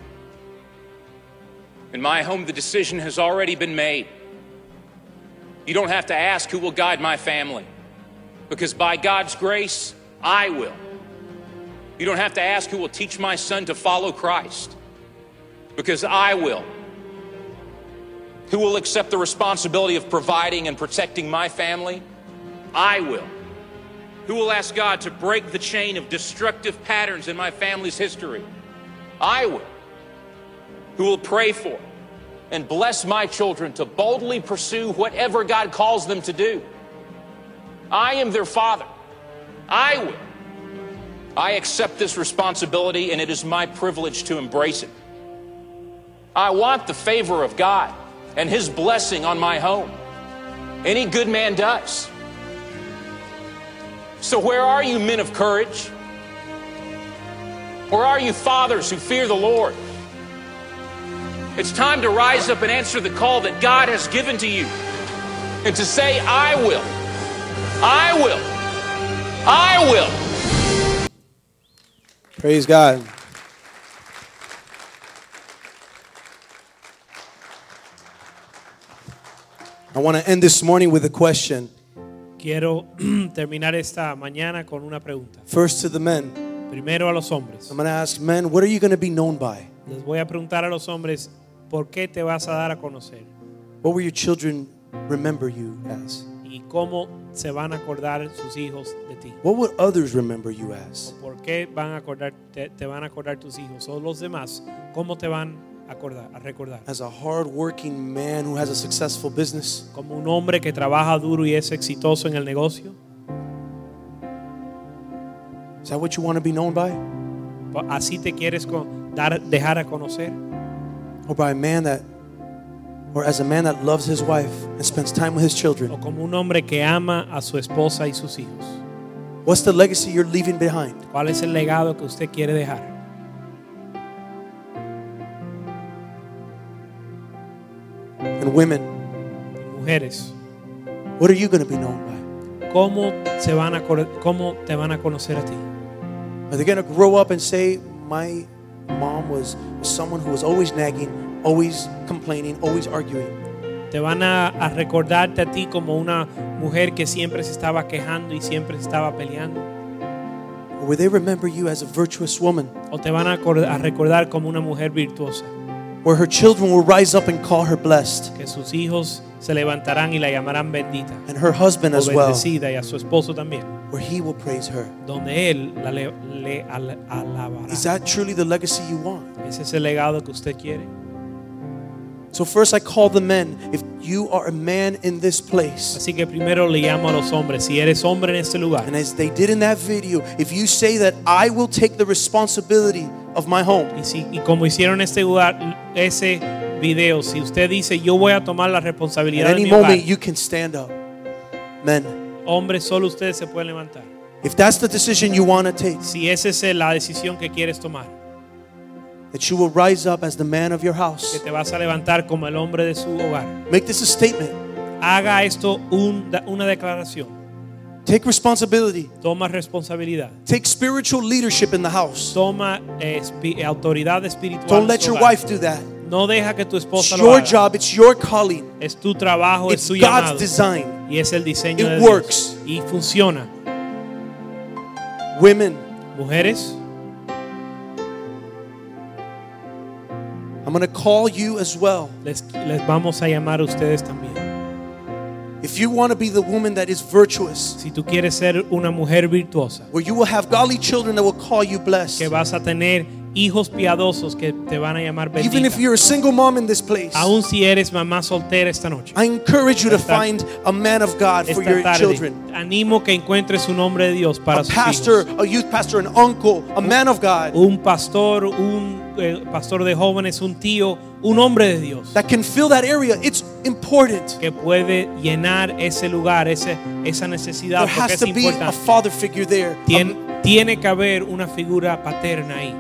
In my home, the decision has already been made. You don't have to ask who will guide my family, because by God's grace, I will. You don't have to ask who will teach my son to follow Christ, because I will. Who will accept the responsibility of providing and protecting my family? I will. Who will ask God to break the chain of destructive patterns in my family's history? I will. Who will pray for and bless my children to boldly pursue whatever God calls them to do? I am their father. I will. I accept this responsibility, and it is my privilege to embrace it. I want the favor of God and His blessing on my home. Any good man does. So where are you, men of courage? Where are you, fathers who fear the Lord? It's time to rise up and answer the call that God has given to you, and to say, I will. I will. I will. Praise God. I want to end this morning with a question. Quiero terminar esta mañana con una pregunta. First to the men. Primero a los hombres. I'm going to ask men, what are you going to be known by? Les voy a preguntar a los hombres, ¿por qué te vas a dar a conocer? What will your children remember you as? ¿Y cómo se van a acordar sus hijos de ti? What would others remember you as? ¿Por qué van a acordar, te, te van a acordar tus hijos o los demás? ¿Cómo te van a acordar, a recordar? As a hard-working man who has a successful business? Como un hombre que trabaja duro y es exitoso en el negocio. Is that what you want to be known by? ¿Así te quieres con, dar, dejar a conocer? Or by a man that, or as a man that loves his wife and spends time with his children? O como un hombre que ama a su esposa y sus hijos. What's the legacy you're leaving behind? ¿Cuál es el legado que usted quiere dejar? And women, mujeres, what are you going to be known by? ¿Cómo se van a cómo te van a conocer a ti? Are they going to grow up and say, my mom was someone who was always nagging, always complaining, always arguing? Te van a, a recordarte a ti como una mujer que siempre se estaba quejando y siempre se estaba peleando. Or will they remember you as a virtuous woman? O te van a, a recordar como una mujer virtuosa. Where her children will rise up and call her blessed. Que sus hijos se levantarán y la llamarán bendita. And her husband as well. Bendecida, y a su esposo también. Where he will praise her. Donde él la le, le al, alabará. Is that truly the legacy you want? ¿Ese es el legado que usted quiere? So first I call the men. If you are a man in this place. Así que primero le llamo a los hombres. Si eres hombre en este lugar. And as they did in that video, if you say that I will take the responsibility of my home. Y, si, y como hicieron en este lugar, ese video, si usted dice yo voy a tomar la responsabilidad At de any mi hogar, moment you can stand up. Men. Hombres, solo ustedes se pueden levantar. If that's the decision you want to take. Si esa es la decisión que quieres tomar. That you will rise up as the man of your house. Que te vas a levantar como el hombre de su hogar. Make this a statement. Haga esto un, una declaración. Take responsibility. Toma responsabilidad. Take spiritual leadership in the house. Toma eh, espi, autoridad espiritual. Don't let your wife do that. No deja que tu esposa it's lo your haga. job, it's your calling. Es tu trabajo, it's es tu God's llamado. design. Y es el diseño It de works. Dios. Y funciona. Women. Mujeres. I'm going to call you as well. Les, les vamos a llamar a ustedes también. If you want to be the woman that is virtuous, Si tú quieres ser una mujer virtuosa, where you will have godly children that will call you blessed. que vas a tener hijos piadosos que te van a llamar Even if bendita, you're a single mom in this place, aun si eres mamá soltera esta noche, I encourage you to Esta- find a man of God for esta your tarde, children. animo que encuentres un hombre de Dios para A sus pastor, hijos. a youth pastor, an uncle, a man of God Un pastor, un eh, pastor de jóvenes, un tío, un hombre de Dios that can fill that area. It's important. que puede llenar ese lugar, ese, esa necesidad, There porque has es to be a importante. father figure there. Tien- tiene que haber una figura paterna ahí.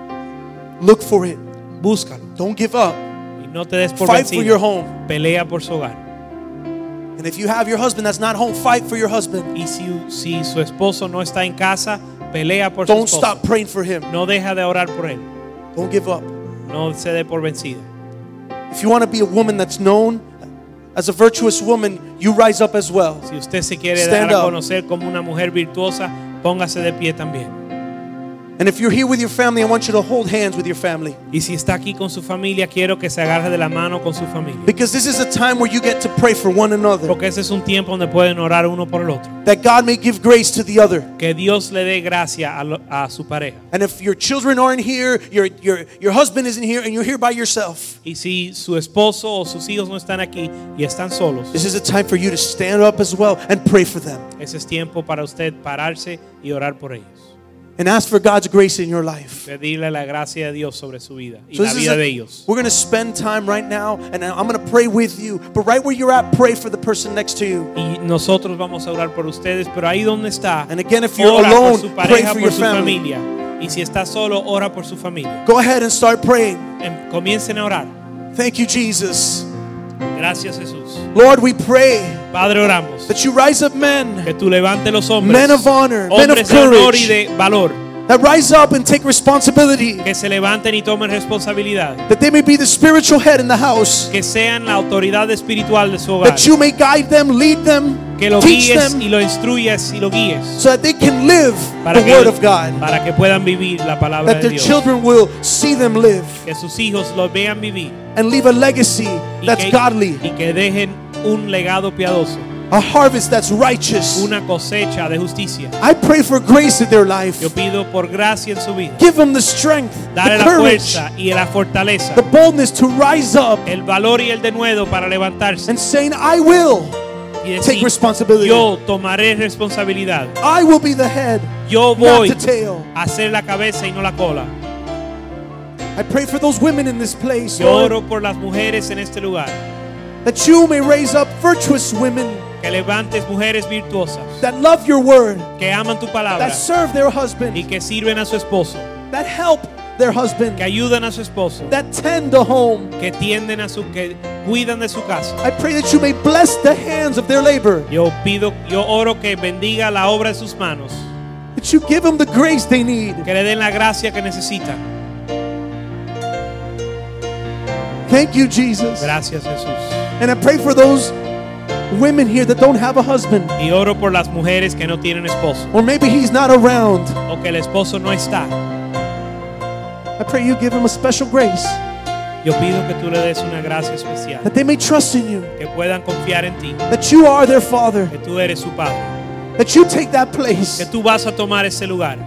Look for it. Búscalo Don't give up. y no te des por Fight for your vencido. home. Pelea por su hogar. And if you have your husband that's not home, fight for your husband. Y si, si su esposo no está en casa, pelea por su Don't esposo. stop praying for him. No deja de orar por él. Don't give up. No se dé por vencida. If you want to be a woman that's known as a virtuous woman, you rise up as well. Si usted se quiere Stand dar a up. conocer como una mujer virtuosa, póngase de pie también. And if you're here with your family, I want you to hold hands with your family. Y si está aquí con su familia, quiero que se agarre de la mano con su familia. Because this is a time where you get to pray for one another. Porque ese es un tiempo donde pueden orar uno por el otro. That God may give grace to the other. Que Dios le dé gracia a, lo- a su pareja. And if your children aren't here, your, your, your husband isn't here, and you're here by yourself, Y si su esposo o sus hijos no están aquí y están solos, this is a time for you to stand up as well and pray for them. ese es tiempo para usted pararse y orar por ellos. And ask for God's grace in your life. Pedirle la gracia de Dios sobre su vida y So la this is vida a- de ellos. we're going to spend time right now, and I'm going to pray with you. But right where you're at, pray for the person next to you. Y nosotros vamos a orar por ustedes, pero ahí donde está, And again, if you're ora alone, por su pray pareja, for por your su family. familia. Y si está solo, ora por su familia. Go ahead and start praying. Em- Comiencen a orar. Thank you, Jesus. Gracias, Jesús. Lord, we pray Padre, oramos that you rise up men que tú levantes los hombres, Men of honor, men of hombres de honor courage. y de valor, that rise up and take responsibility, que se levanten y tomen responsabilidad, that they may be the spiritual head in the house, que sean la autoridad espiritual de su hogar, that you may guide them, lead them, que lo teach guíes them, y lo instruyas y lo guíes so that they can live para the que, word of God, para que puedan vivir la palabra that de their Dios, children will see them live que sus hijos lo vean vivir and leave a legacy y that's que, godly, y que dejen un legado piadoso, a harvest that's righteous. una cosecha de justicia. I pray for grace in their life. Yo pido por gracia en su vida, Give them the strength, dale the la courage, fuerza y la fortaleza, the boldness to rise up el valor y el denuedo para levantarse and saying, I will y take decir, responsibility. yo tomaré responsabilidad, I will be the head, yo not voy the tail. a ser la cabeza y no la cola. I pray for those women in this place, Yo Lord, oro por las mujeres en este lugar, that you may raise up virtuous women que levantes mujeres virtuosas, that love your word, que aman tu palabra that serve their y husband, que sirven a su esposo, that help their husband, que ayudan a su esposo, that tend a home. que tienden a su, que cuidan de su casa. I pray that you may bless the hands of their labor, Yo pido, yo oro que bendiga la obra de sus manos, that you give them the grace they need. que le den la gracia que necesitan. Thank you, Jesus. Gracias, Jesús. And I pray for those women here that don't have a husband, Y oro por las mujeres que no tienen esposo or maybe he's not around. o que el esposo no está. I pray you give him a special grace, Yo pido que tú le des una gracia especial, that they may trust in you, que puedan confiar en ti, that you are their father, que tú eres su padre, that you take that place. que tú vas a tomar ese lugar.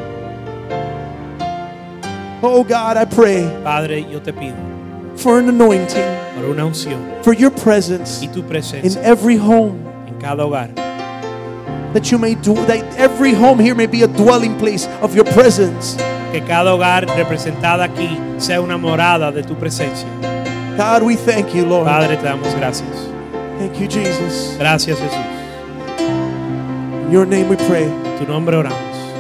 Oh God, I pray Padre, yo te pido for an anointing, por una unción for your presence y tu in presencia every home, en cada hogar, that you may do that every home here may be a dwelling place of your presence. que cada hogar representada aquí sea una morada de tu presencia. God, we thank you, Lord. Padre, te damos gracias. Thank you, Jesus. Gracias, Jesús. In your name we pray. En tu nombre oramos.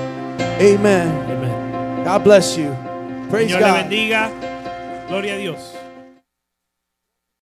Amen. Amén. God bless you. Praise Señor le God. bendiga. Gloria a Dios.